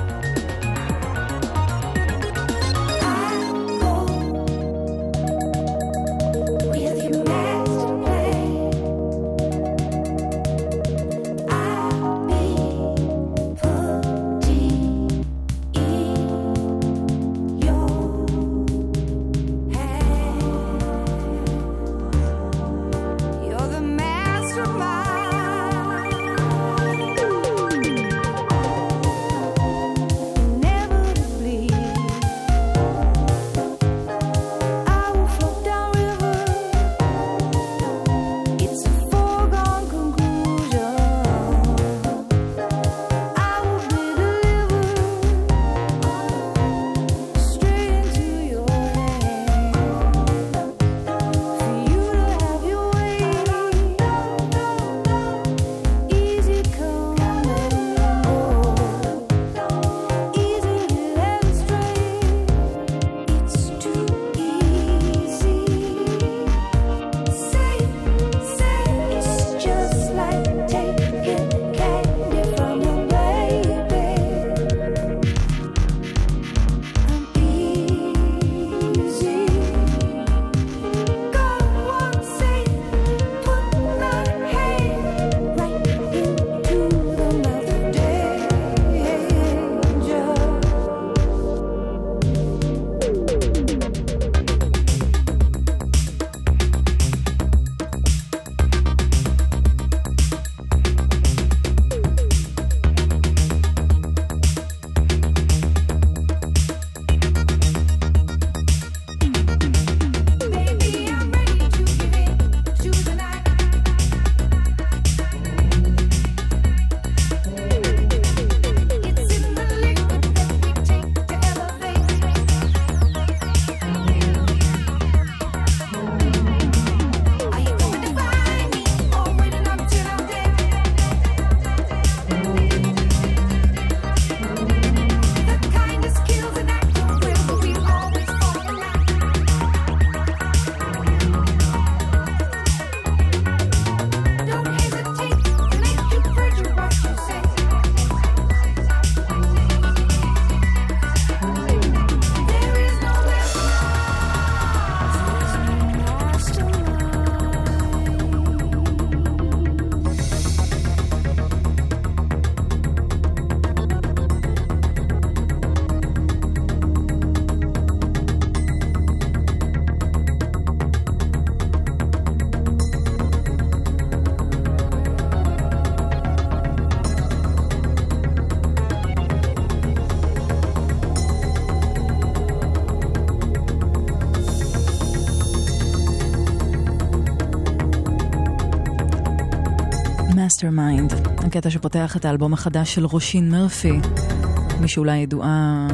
Mastermind, הקטע שפותח את האלבום החדש של רושין מרפי, מי שאולי ידועה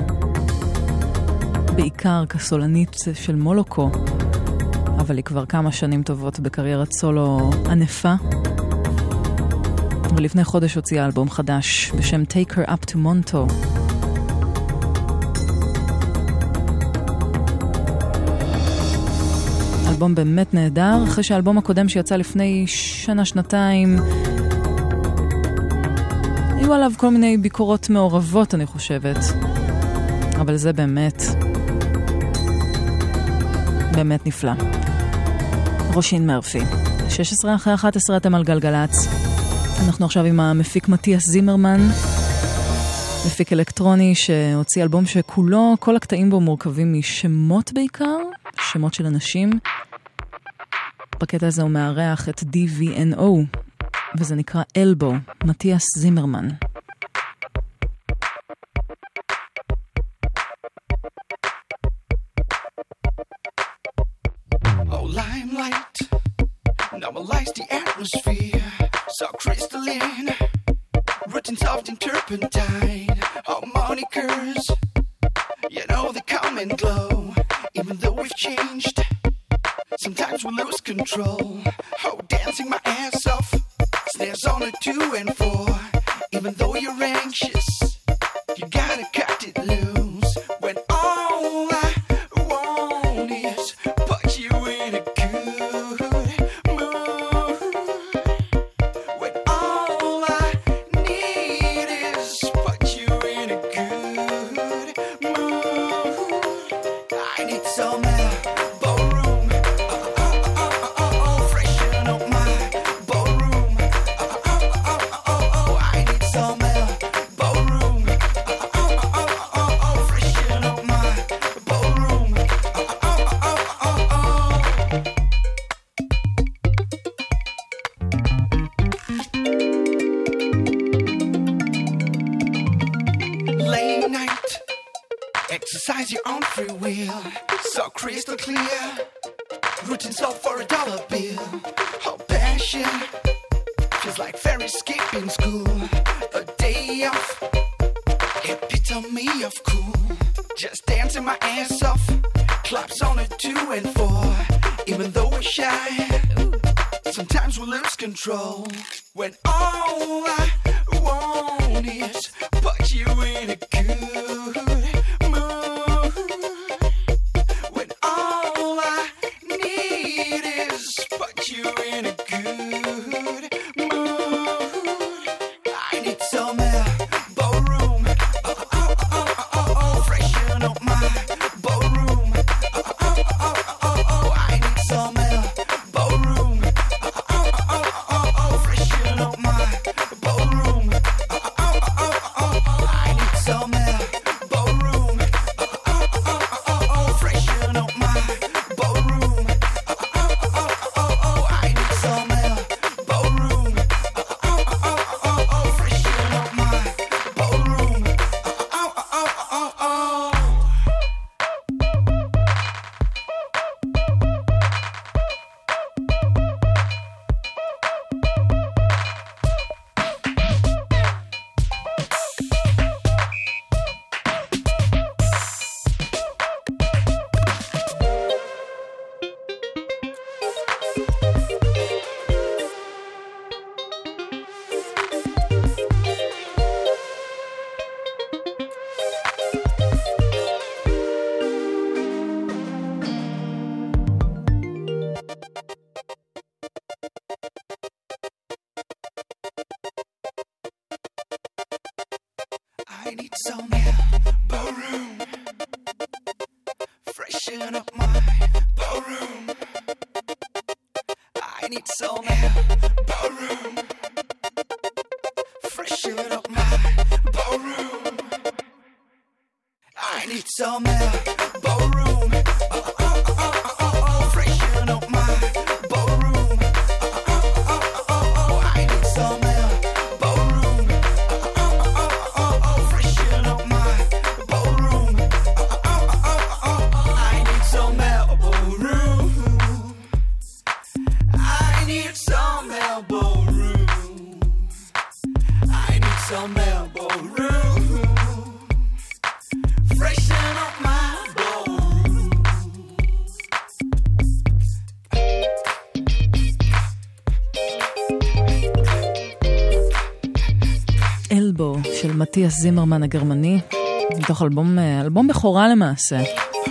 בעיקר כסולנית של מולוקו, אבל היא כבר כמה שנים טובות בקריירת סולו ענפה. ולפני חודש הוציאה אלבום חדש בשם Take Her Up to Monto. אלבום באמת נהדר, אחרי שהאלבום הקודם שיצא לפני שנה, שנתיים, היו עליו כל מיני ביקורות מעורבות, אני חושבת. אבל זה באמת, באמת נפלא. רושין מרפי. שש עשרה אחרי אחת עשרה אתם על גלגלץ. אנחנו עכשיו עם המפיק מתיאס זימרמן, מפיק אלקטרוני שהוציא אלבום שכולו, כל הקטעים בו מורכבים משמות בעיקר, שמות של אנשים. בקטע הזה הוא מארח את די וי אן או, וזה נקרא אלבו, מתיאס זימרמן. Oh, limelight, normalize the atmosphere, so crystalline, written soft in turpentine, harmonicas, you know they come and glow, even though we've changed, sometimes we lose control, oh, dancing my ass off, snares on a two and four, even though you're anxious, you gotta cut it loose, when all I want is put you in a good mood, when all I need is put you in a good mood. I need some ballroom, oh, oh, oh, oh, oh, freshen up my ballroom, oh, oh, oh, oh, oh, I need some ballroom, oh, oh, oh, oh, oh, freshen up my ballroom, oh, oh, oh, oh, oh. Late night, exercise your own free will, so crystal clear, routine sold for a dollar bill, oh passion, feels like fairy skipping school, a day off, epitome of cool, just dancing my ass off, claps on a two and four, even though we're shy, sometimes we lose control, when all I want is put you in a good mood, when all I need is put you in a good mood. I need some ballroom, oh, oh, oh, oh, oh, freshen up my ballroom, oh, oh, oh, oh, oh, I need some ballroom, oh, oh, oh, oh, oh, freshen up my ballroom, oh, oh, oh, oh, oh, I need some ballroom, oh, oh, oh, oh, oh, freshen up my ballroom, oh, oh, oh, oh, oh, I need some ballroom, oh, oh, oh, oh, oh, freshen up my ballroom, oh, oh, oh, oh, oh. I need some ballroom, freshen up my ballroom. I need some ballroom, freshen up my ballroom. I need some ballroom, oh, oh, oh, oh, oh, oh, freshen up my ballroom. Oh, oh, oh, oh, oh, I need some ballroom, oh, oh, oh, oh, oh, freshen up my ballroom. Oh, oh, oh, oh, oh, I need some ballroom. I need some ballroom. I need some ballroom. Freshen up my של מתיאס זימרמן הגרמני, מתוך אלבום, אלבום בכורה למעשה,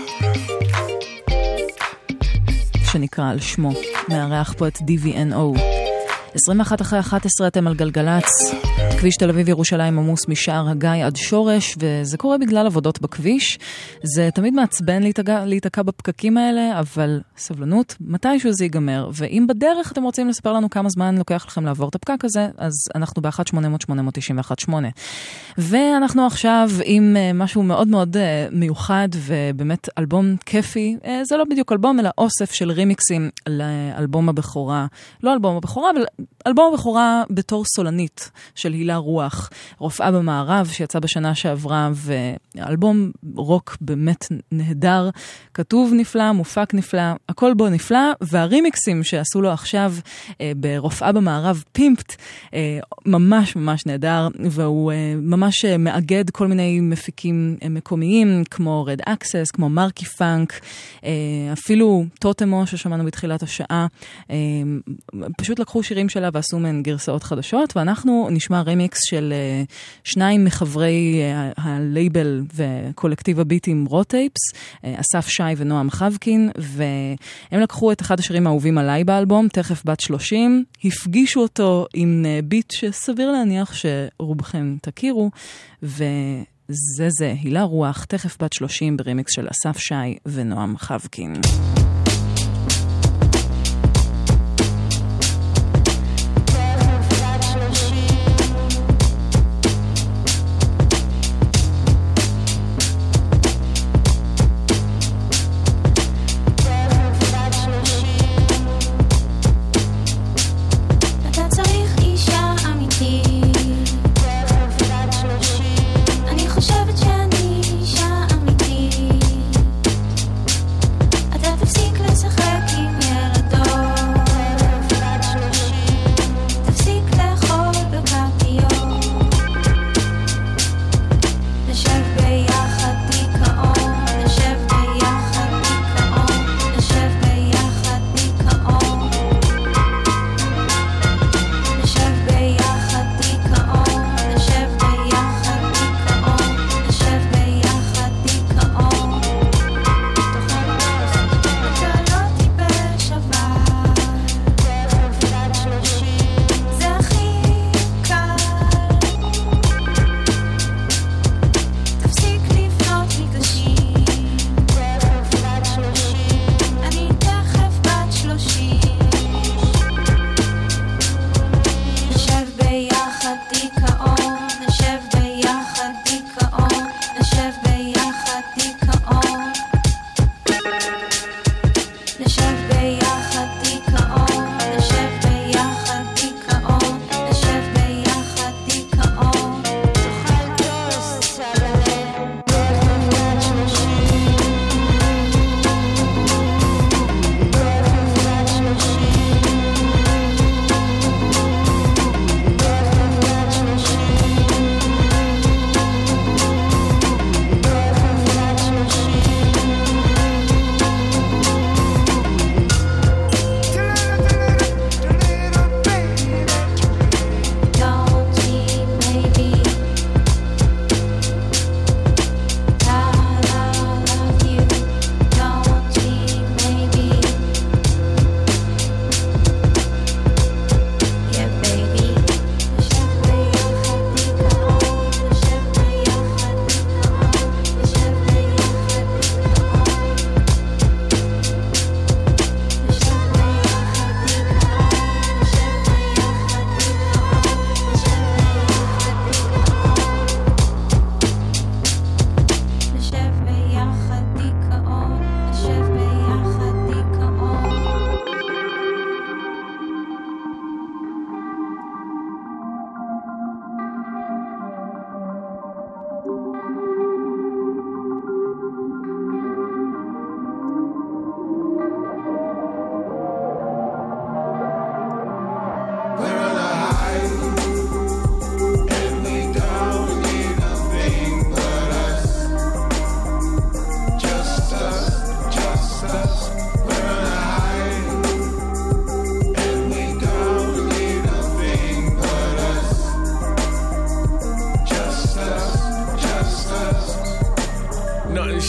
שנקרא על שמו, מארח פה את די וי אן או. עשרים ואחת אחרי אחת עשרה אתם על גלגלץ, כביש תל אביב ירושלים עמוס משער הגיא עד שורש, וזה קורה בגלל עבודות בכביש. זה תמיד מעצבן להתקע, להתקע בפקקים האלה, אבל סבלנות, מתישהו זה ייגמר. ואם בדרך אתם רוצים לספר לנו כמה זמן לוקח לכם לעבור את הפקק הזה, אז אנחנו ב-אחת שמונה אפס אפס שמונה תשע אחת שמונה. ואנחנו עכשיו עם משהו מאוד מאוד מיוחד, ובאמת אלבום כיפי. זה לא בדיוק אלבום, אלא אוסף של רימיקסים לאלבום הבכורה. לא אלבום הבכורה, אבל אלבום הבכורה בתור סולנית של הילה רוח, רופאה במערב שיצא בשנה שעברה, ואלבום רוק באמת נהדר, כתוב נפלא, מופק נפלא, הכל בו נפלא, והרימיקסים שעשו לו עכשיו אה, ברופאה במערב פימפט, אה, ממש ממש נהדר, והוא אה, ממש אה, מאגד כל מיני מפיקים אה, מקומיים, כמו רד אקסס, כמו מרקי פאנק, אה, אפילו טוטמו ששמענו בתחילת השעה, אה, פשוט לקחו שירים שלה ועשו מהן גרסאות חדשות, ואנחנו נשמע רמיקס של uh, שניים מחברי uh, הלייבל וקולקטיב הביטים רוטייפס, uh, אסף שי ונועם חבקין, והם לקחו את אחד השירים האהובים עליי באלבום, תכף בת שלושים, הפגישו אותו עם uh, ביט שסביר להניח שרובכם תכירו, וזה זה, הילה רוח, תכף בת שלושים ברמיקס של אסף שי ונועם חבקין.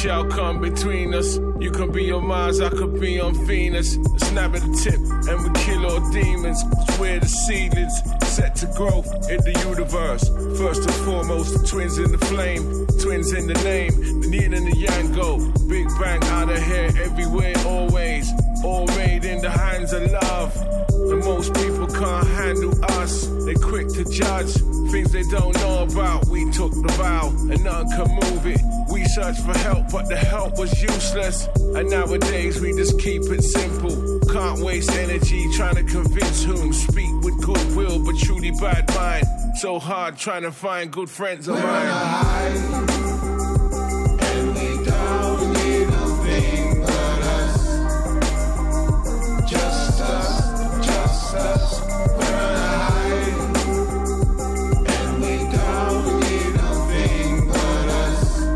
shall come between us. You can be on Mars, I could be on Venus. A snap at the tip, and we kill all demons. We're the seedlings, set to grow in the universe. First and foremost, the twins in the flame, twins in the name. The yin and the yang go, big bang out of here, everywhere, always. All made in the hands of love. And most people can't handle us. They quick to judge things they don't know about. We took the vow and none can move it. We searched for help, but the help was useless. And nowadays we just keep it simple. Can't waste energy trying to convince whom. Speak with goodwill, but truly bad mind. So hard trying to find good friends of mine. And we don't need a thing but us. Just us, just us. We're alive. And we don't need a thing but us.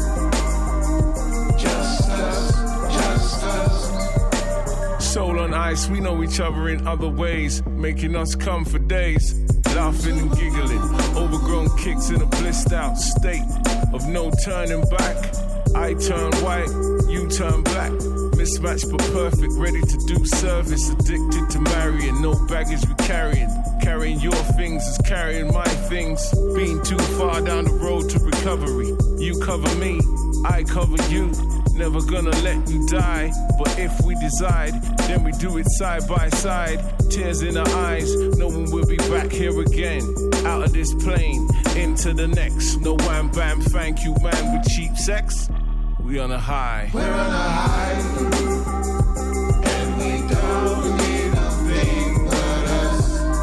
Just us, just us. Soul on ice, we know each other in other ways, making us come for days. Laughing and giggling, overgrown kicks in a blissed out state of no turning back. I turn white, you turn black. Mismatched but perfect, ready to do service. Addicted to marrying, no baggage we carrying. Carrying your things is carrying my things. Being too far down the road to recovery. You cover me, I cover you. Never gonna let you die, but if we decide, then we do it side by side. Tears in our eyes, no one will be back here again. Out of this plane, into the next. No wham bam, thank you man with cheap sex. We on a high. We're on a high. And we don't need a thing but us.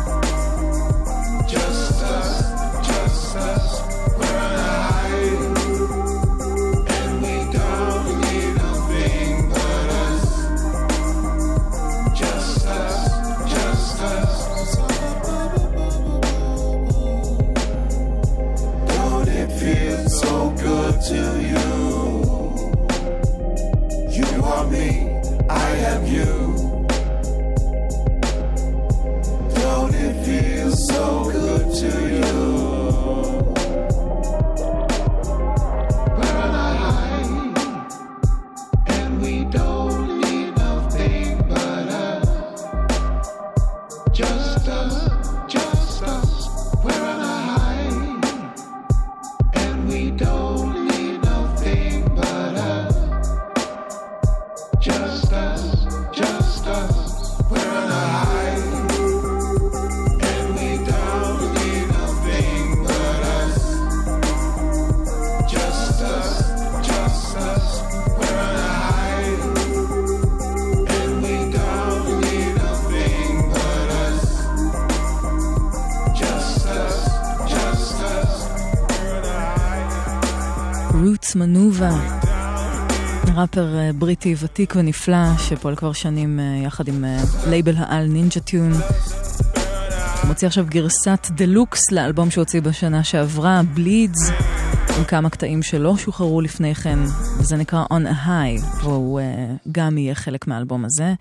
Just us, just us. We're on a high. And we don't need a thing but us. Just us, just us. Don't it feel so good to you? You are me, I am you. Don't it feel so good to you? We're on a high, and we don't need nothing but us. Just us, just us. We're on a high, and we don't need nothing but us. Just us, just us, we're on a high. And we don't need nothing but us. Just us, just us, we're on a high. And we don't need nothing but us. Just us, just us, we're on a high. רוטס מנובה, ראפר בריטי ותיק ונפלא שפועל כבר שנים יחד עם לייבל העל נינג'ה טיון. הוא מוציא עכשיו גרסת דלוקס לאלבום שהוציא בשנה שעברה, בלידס, עם כמה קטעים שלא שוחררו לפני כן, וזה נקרא On a High, והוא גם יהיה חלק מהאלבום הזה.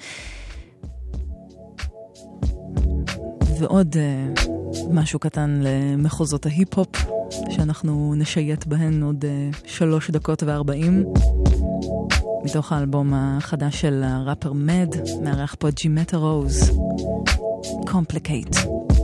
ועוד משהו קטן למחוזות ההיפ-הופ שאנחנו נשייט בהן עוד שלוש דקות וארבעים מתוך האלבום החדש של הראפר מד, מארח פה ג'ימטה רוז, Complicate.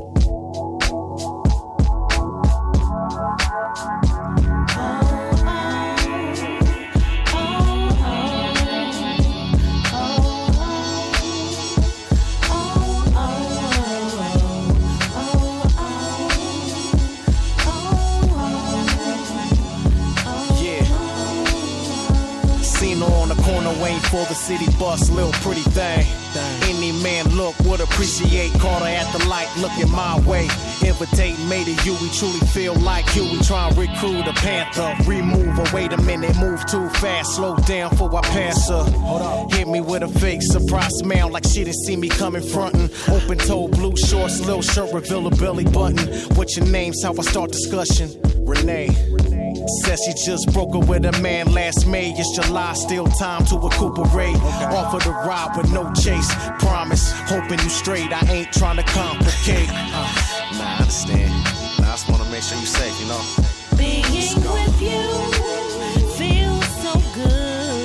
Waiting for the city bus, little pretty thing. Any man look would appreciate. Caught her at the light, looking my way. Invitate me to you, we truly feel like you. We try and recruit a panther. Remove her, wait a minute, move too fast. Slow down for I pass her. Hit me with a fake surprise smile like she didn't see me coming frontin'. Open toe, blue shorts, little shirt, reveal a belly button. What's your name's how I start discussion. Renee. Says she just broke up with a man last May. It's July, still time to recuperate. Okay. Offer to ride with no chase. Promise, hoping you straight. I ain't trying to complicate. Uh, nah, I understand. Nah, I just want to make sure you're safe, you know. Being with you feels so good.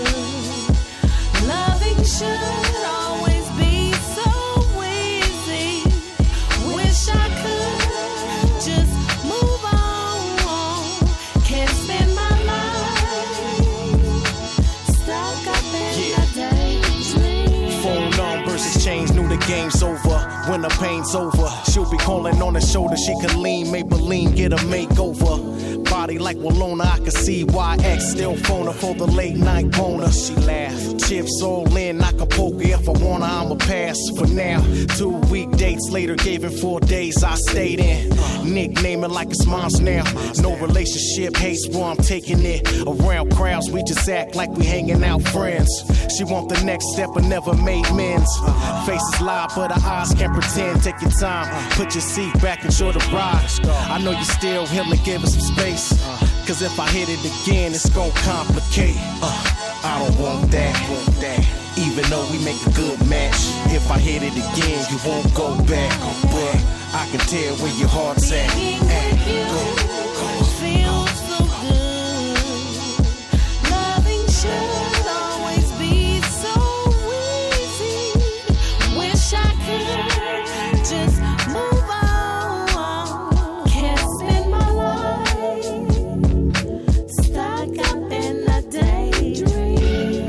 the game's over, when the pain's over, she'll be calling on the shoulder. She can lean, Maybelline, get a makeover. Body like Walona, I can see why X still phone her for the late night boner. She laughed, chips all in, Acapulco. If I wanna, I'ma pass for now. Two week dates later, gave him four days, I stayed in. Nickname it like it's mom's now. No relationship, hates where I'm taking it. Around crowds, we just act like we hanging out friends. She want the next step, but never made men's. Faces lie, but her eyes can't pretend. Take your time, put your seat back and show the ride. I know you still healing, give us some space. Cause if I hit it again, it's gon' complicate. Uh, I don't want that, want that. Even though we make a good match, if I hit it again, you won't go back. But I can tell where your heart's at. at. Go, go. Feels so good. Loving should always be so easy. Wish I could just move on. Can't spend my life stuck up in a daydream.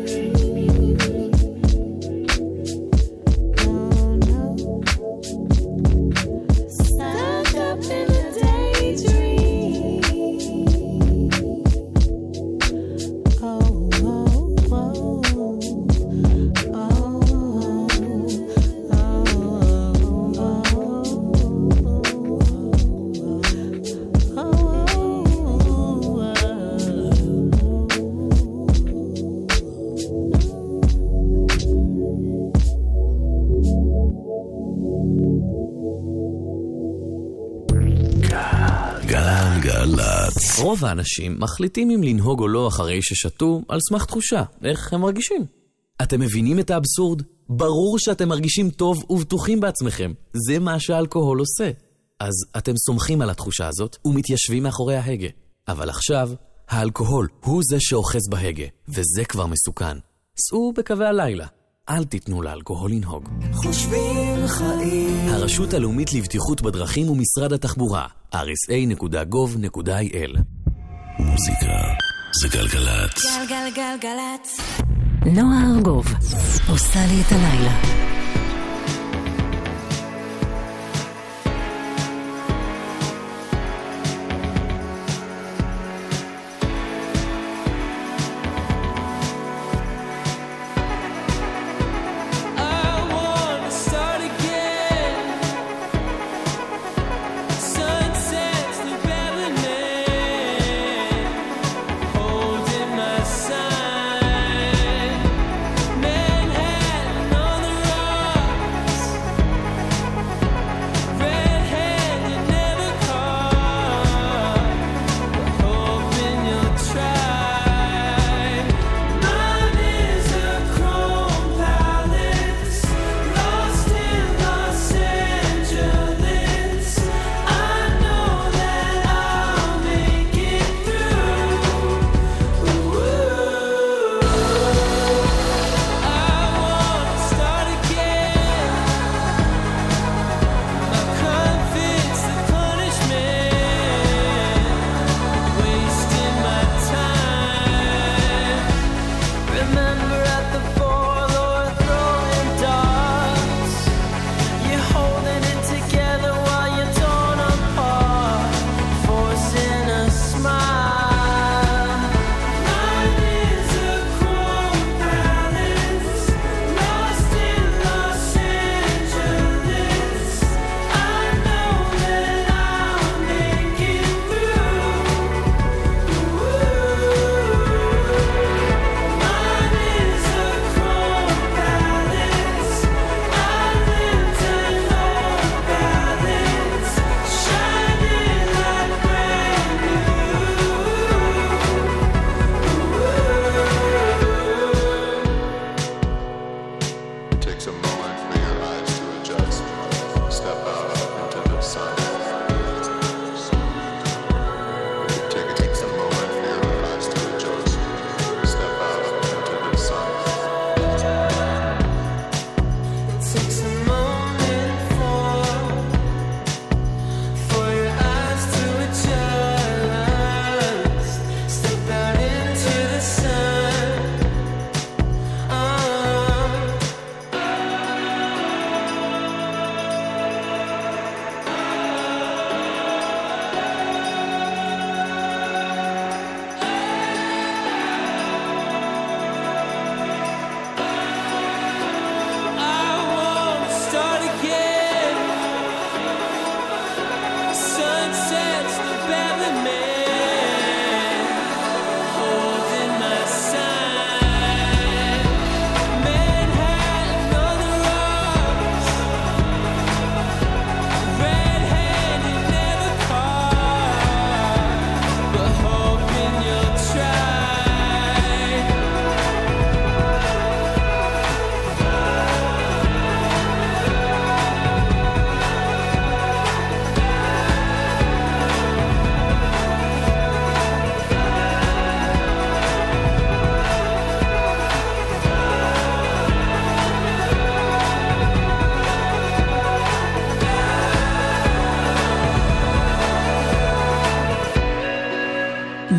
Stuck up in a daydream. Oh, oh, oh, גלגלצ. רוב האנשים מחליטים אם לנהוג או לא אחרי ששתו על סמך תחושה, איך הם מרגישים. אתם מבינים את האבסורד? ברור שאתם מרגישים טוב ובטוחים בעצמכם. זה מה שהאלכוהול עושה. אז אתם סומכים על התחושה הזאת ומתיישבים מאחורי ההגה. אבל עכשיו, האלכוהול הוא זה שאוחז בהגה, וזה כבר מסוכן. סעו בקווי הלילה. אל תיתנו לאלכוהול לנהוג. חושבים חיים. הרשות הלאומית לבטיחות בדרכים ומשרד התחבורה, אר אס איי נקודה גוב נקודה איי אל. מוזיקה זה גלגלצ. גלגלגלגלצ. נועה ארגוב עושה לי את הלילה.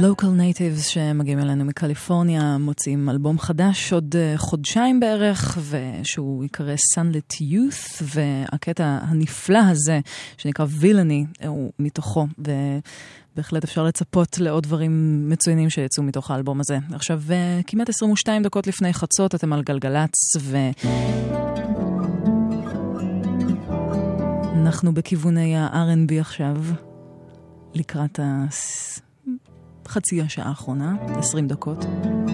Local Natives שמגיעים אלינו מקליפורניה, מוצאים אלבום חדש עוד חודשיים בערך, ושהוא יקרא Sunlit Youth, והקטע הנפלא הזה שנקרא Villainy הוא מתוכו, ובהחלט אפשר לצפות לעוד דברים מצוינים שיצאו מתוך האלבום הזה. עכשיו כמעט עשרים ושתיים דקות לפני חצות אתם על גלגלץ, ואנחנו בכיווני ה-אר אנד בי עכשיו, לקראת ה... חצי השעה האחרונה, עשרים דקות.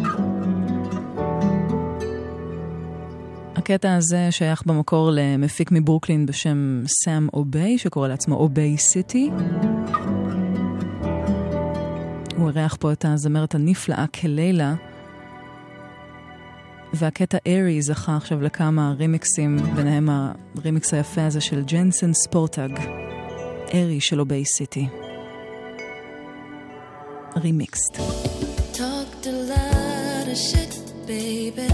הקטע הזה שייך במקור למפיק מברוקלין בשם סאם אוביי, שקורא לעצמו אוביי סיטי. הוא ערך פה את הזמרת הנפלאה כלילה, והקטע ארי זכה עכשיו לכמה רימיקסים, ביניהם הרימיקס היפה הזה של ג'נסן ספורטאג, ארי של אוביי סיטי. Remixed. Talked a lot of shit, baby.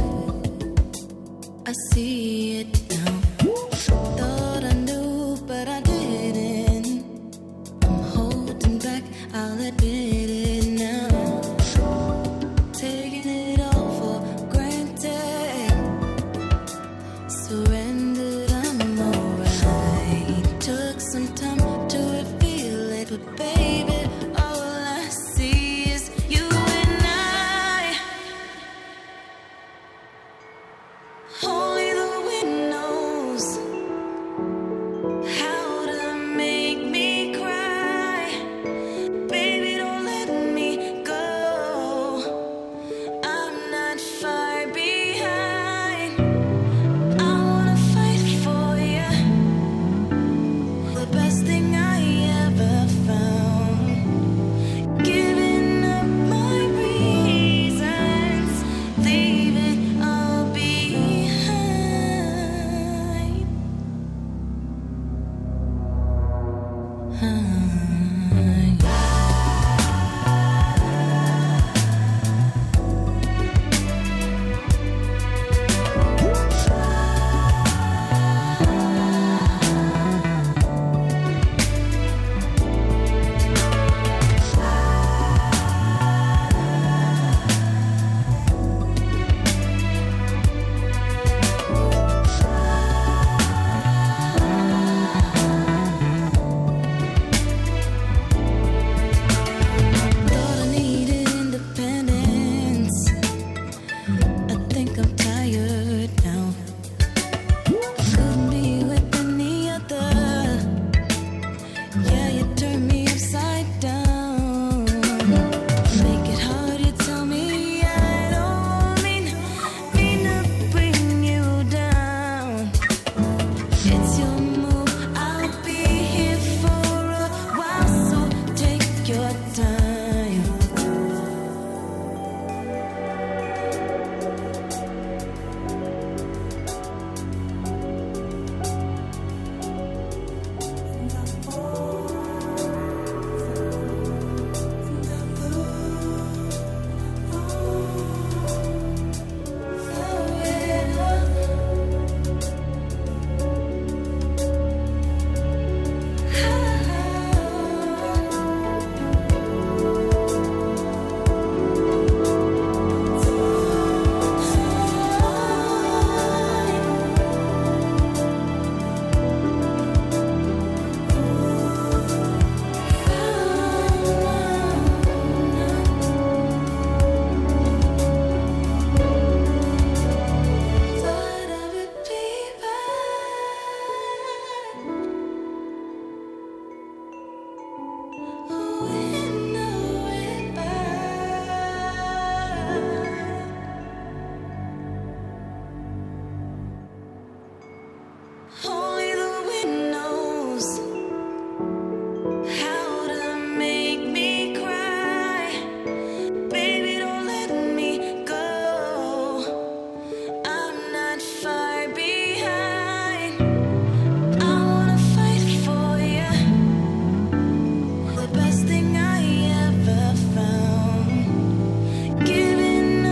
I see it now. Thought I knew, but I didn't. I'm holding back, I'll admit it now. Taking it all for granted. Surrendered, I'm alright. Took some time to reveal it, but baby,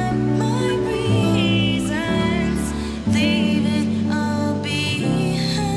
Leave it all behind.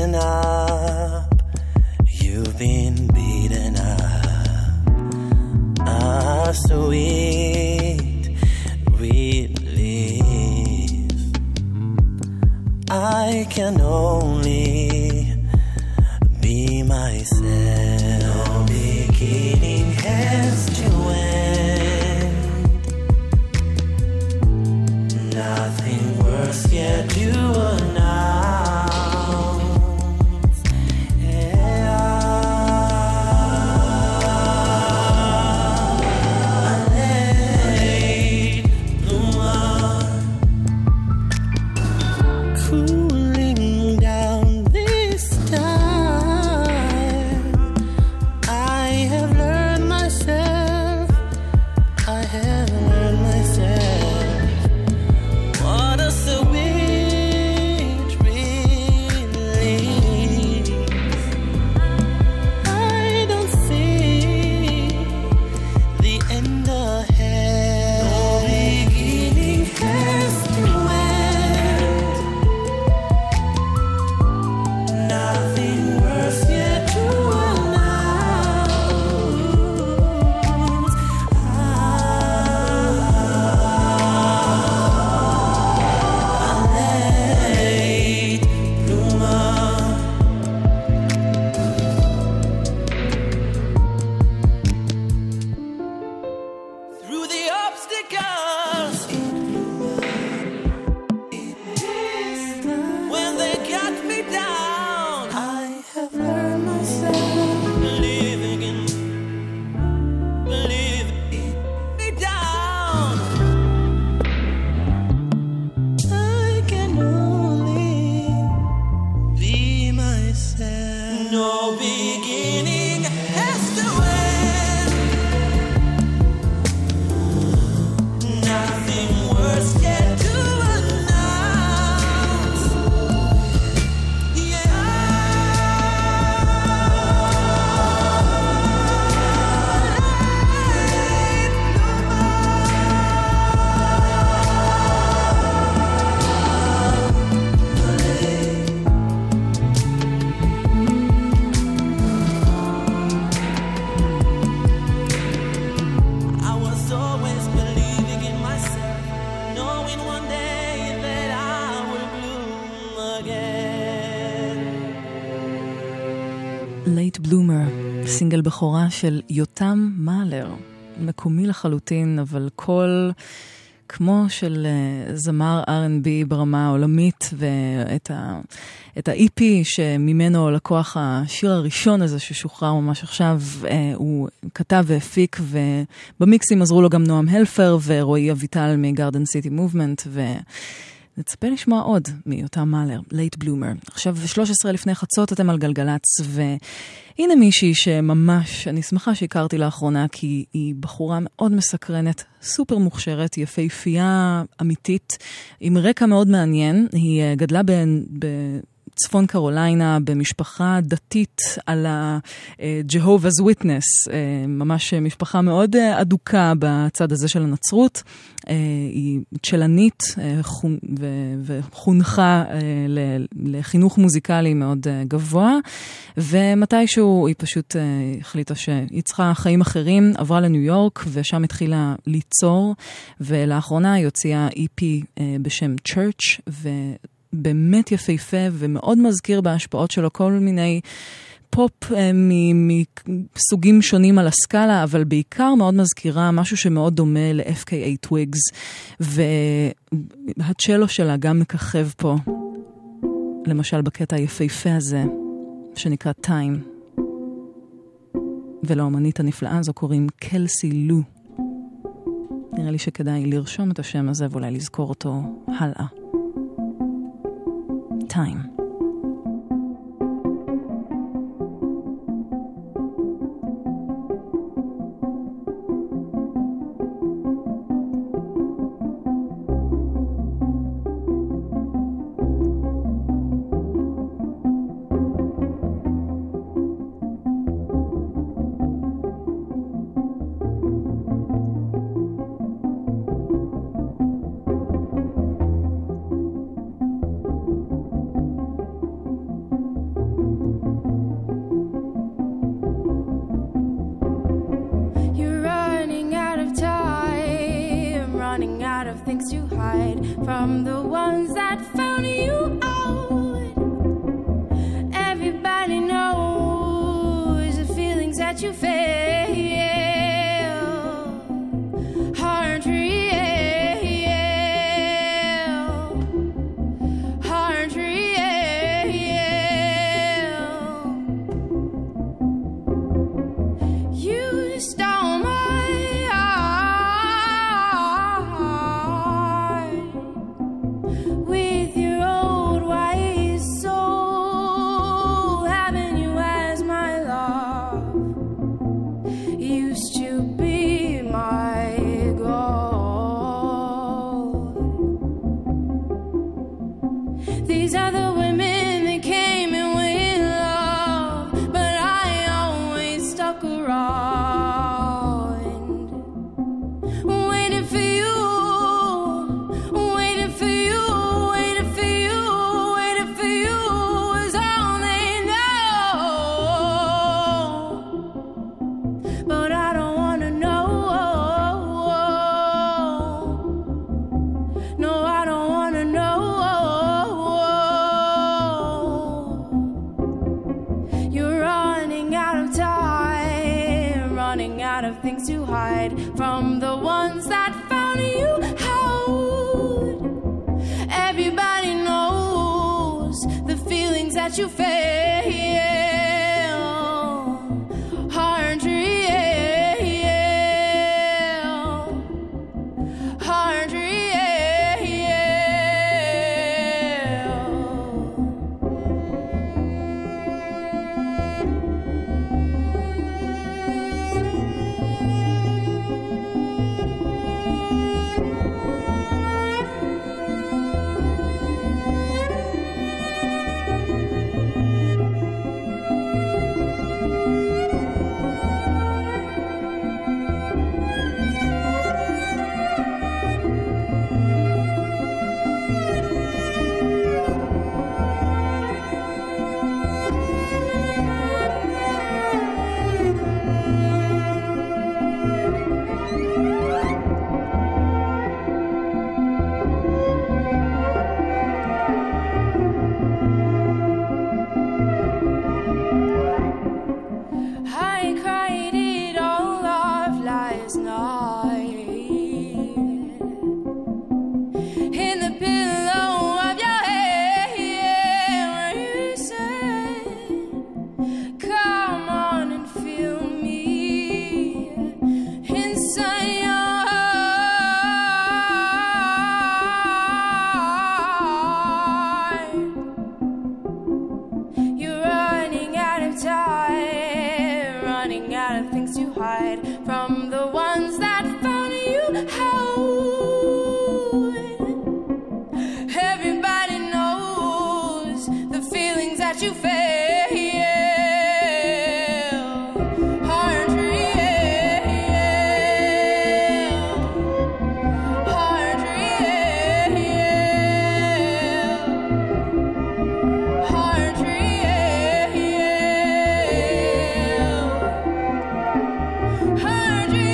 beaten up. You've been beaten up. Ah, sweet relief. I can only be myself. No beginning has to end. Nothing worse yet to announce. A late bloomer, cooling down this time. I have learned myself. I have learned myself. What a sweet relief. I don't see the end ahead. No beginning has to end. Nothing worse yet to announce. A late bloomer. Through the obstacles, when they got me down, I have learned myself. Believing in, believing me down. I can only be myself. No beginning has to end. Nothing worse yet to announce. Yeah. I was always believing in myself, knowing one day that I will bloom again. Late Bloomer, סינגל בכורה של יותם מאלר, מקומי לחלוטין, אבל קול כמו של uh, זמר אר אנד בי ברמה העולמית, ואת ה, את ה-אי פי שממנו לקוח השיר הראשון הזה ששוחרר ממש עכשיו, uh, הוא כתב והפיק, ובמיקסים עזרו לו גם נועם הלפר ורועי אביטל מגארדן סיטי מובמנט, ונצפה לשמוע עוד מיותם מאלר, Late Bloomer. עכשיו שלוש עשרה לפני חצות אתם על גלגלץ, והנה מישהי שממש, אני שמחה שהכרתי לאחרונה, כי היא בחורה מאוד מסקרנת, סופר מוכשרת, יפהפייה אמיתית, עם רקע מאוד מעניין. היא גדלה ב... צפון קרוליינה, במשפחה דתית על ה-Jehovah's Witness, ממש משפחה מאוד אדוקה בצד הזה של הנצרות. היא צ'לנית וחונכה לחינוך מוזיקלי מאוד גבוה, ומתישהו היא פשוט החליטה שהיא צריכה חיים אחרים, עברה לניו יורק ושם התחילה ליצור, ולאחרונה היא הוציאה אי פי בשם Church, ו... באמת יפהפה ומאוד מזכיר בהשפעות שלו כל מיני פופ מסוגים שונים על הסקאלה, אבל בעיקר מאוד מזכירה משהו שמאוד דומה ל-אף קיי איי Twigs, והצ'לו שלה גם מככב פה, למשל בקטע היפהפה הזה שנקרא Time, ולאומנית הנפלאה הזו קוראים קלסי לו. נראה לי שכדאי לרשום את השם הזה ואולי לזכור אותו הלאה. Time. that you fail, hard real, hard real. You stole my heart with your old wise soul, having you as my love used to be my goal. These are the women that came and went love, but I always stuck around, waiting for you, waiting for you, waiting for you, waiting for you is all they know. But I don't wanna know. No, I don't wanna know. You're running out of time, running out of things to hide from the ones that found you out. Everybody knows the feelings that you feel, hard real, hard real. I cried it all off last night in the pillow of your head, where you said, come on and feel me inside your heart. You're running out of time, running out of things to hide from the ones that found you out. Everybody knows the feelings that you feel, hard real, hard real, hard real, hard real.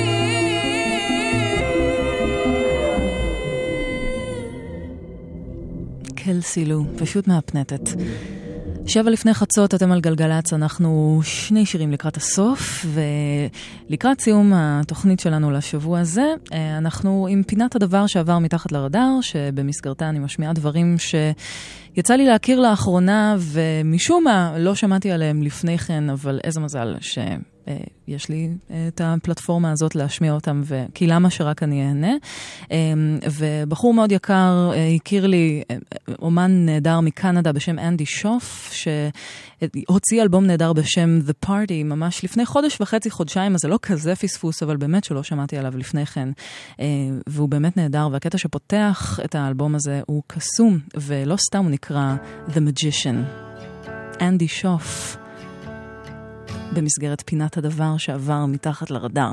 קלסילו, פשוט מהפנטת. שבע לפני חצות, אתם על גלגלץ, אנחנו שני שירים לקראת הסוף, ולקראת סיום התוכנית שלנו לשבוע הזה, אנחנו עם פינת הדבר שעבר מתחת לרדאר, שבמסגרתה אני משמיעה דברים שיצא לי להכיר לאחרונה, ומשום מה לא שמעתי עליהם לפני כן, אבל איזה מזל ש... יש לי את הפלטפורמה הזאת להשמיע אותם, כי למה שרק אני אהנה. ובחור מאוד יקר הכיר לי אומן נהדר מקנדה בשם אנדי שוף, שהוציא אלבום נהדר בשם The Party, ממש לפני חודש וחצי, חודשיים, אז זה לא כזה פספוס, אבל באמת שלא שמעתי עליו לפני כן. והוא באמת נהדר, והקטע שפותח את האלבום הזה הוא קסום, ולא סתם הוא נקרא The Magician. אנדי שוף. במסגרת פינת הדבר שעבר מתחת לרדאר.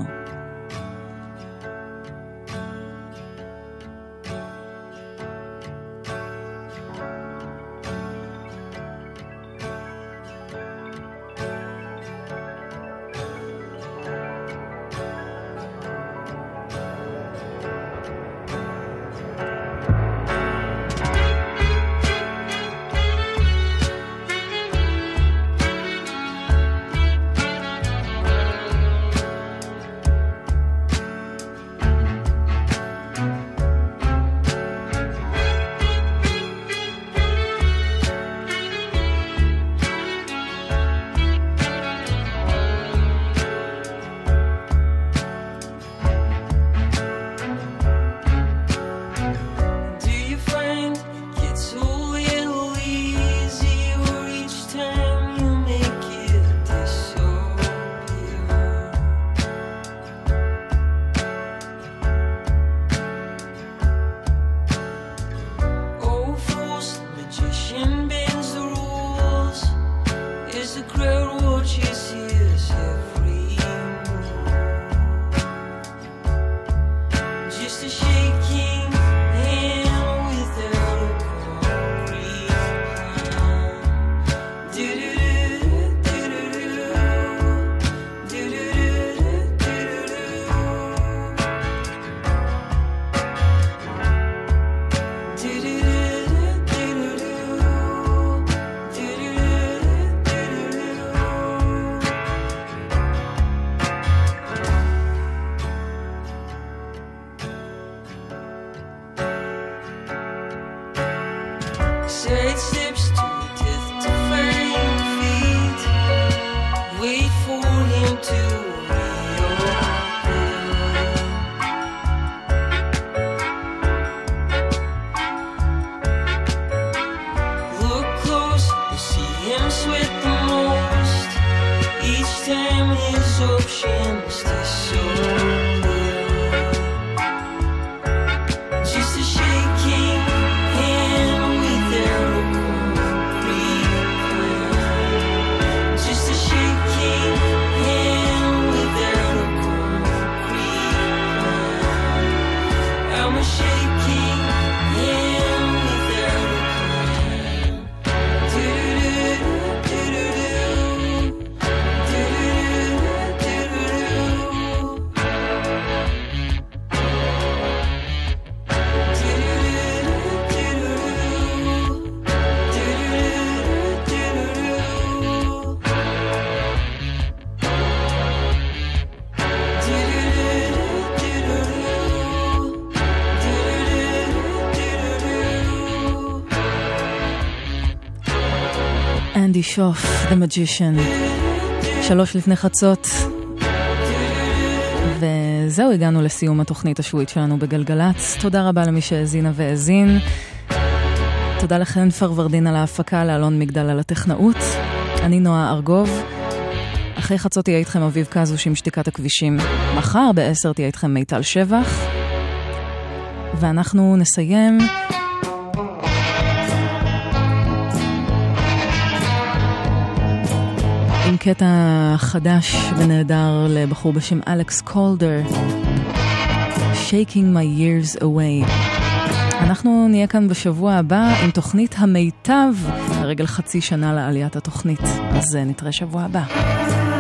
endless oceans to soar. Just a shaking hand without a concrete plan. Just a shaking hand without a concrete plan. I'm a shaking hand without a plan. אנדי שוף, The Magician, שלוש לפני חצות. וזהו, הגענו לסיום התוכנית השבועית שלנו בגלגלץ. תודה רבה למי שהאזינה והאזין. תודה לכן פרוורדין על ההפקה, לאלון מגדל על הטכנאות. אני נועה ארגוב. אחרי חצות תהיה איתכם אביב קזוש עם שתיקת הכבישים. מחר בעשר תהיה איתכם מיטל שבח. ואנחנו נסיים עם קטע חדש ונהדר לבחור בשם אלכס קולדר, Shaking My Years Away. אנחנו נהיה כאן בשבוע הבא עם תוכנית המיטב לרגל חצי שנה לעליית התוכנית, אז נתראה שבוע הבא.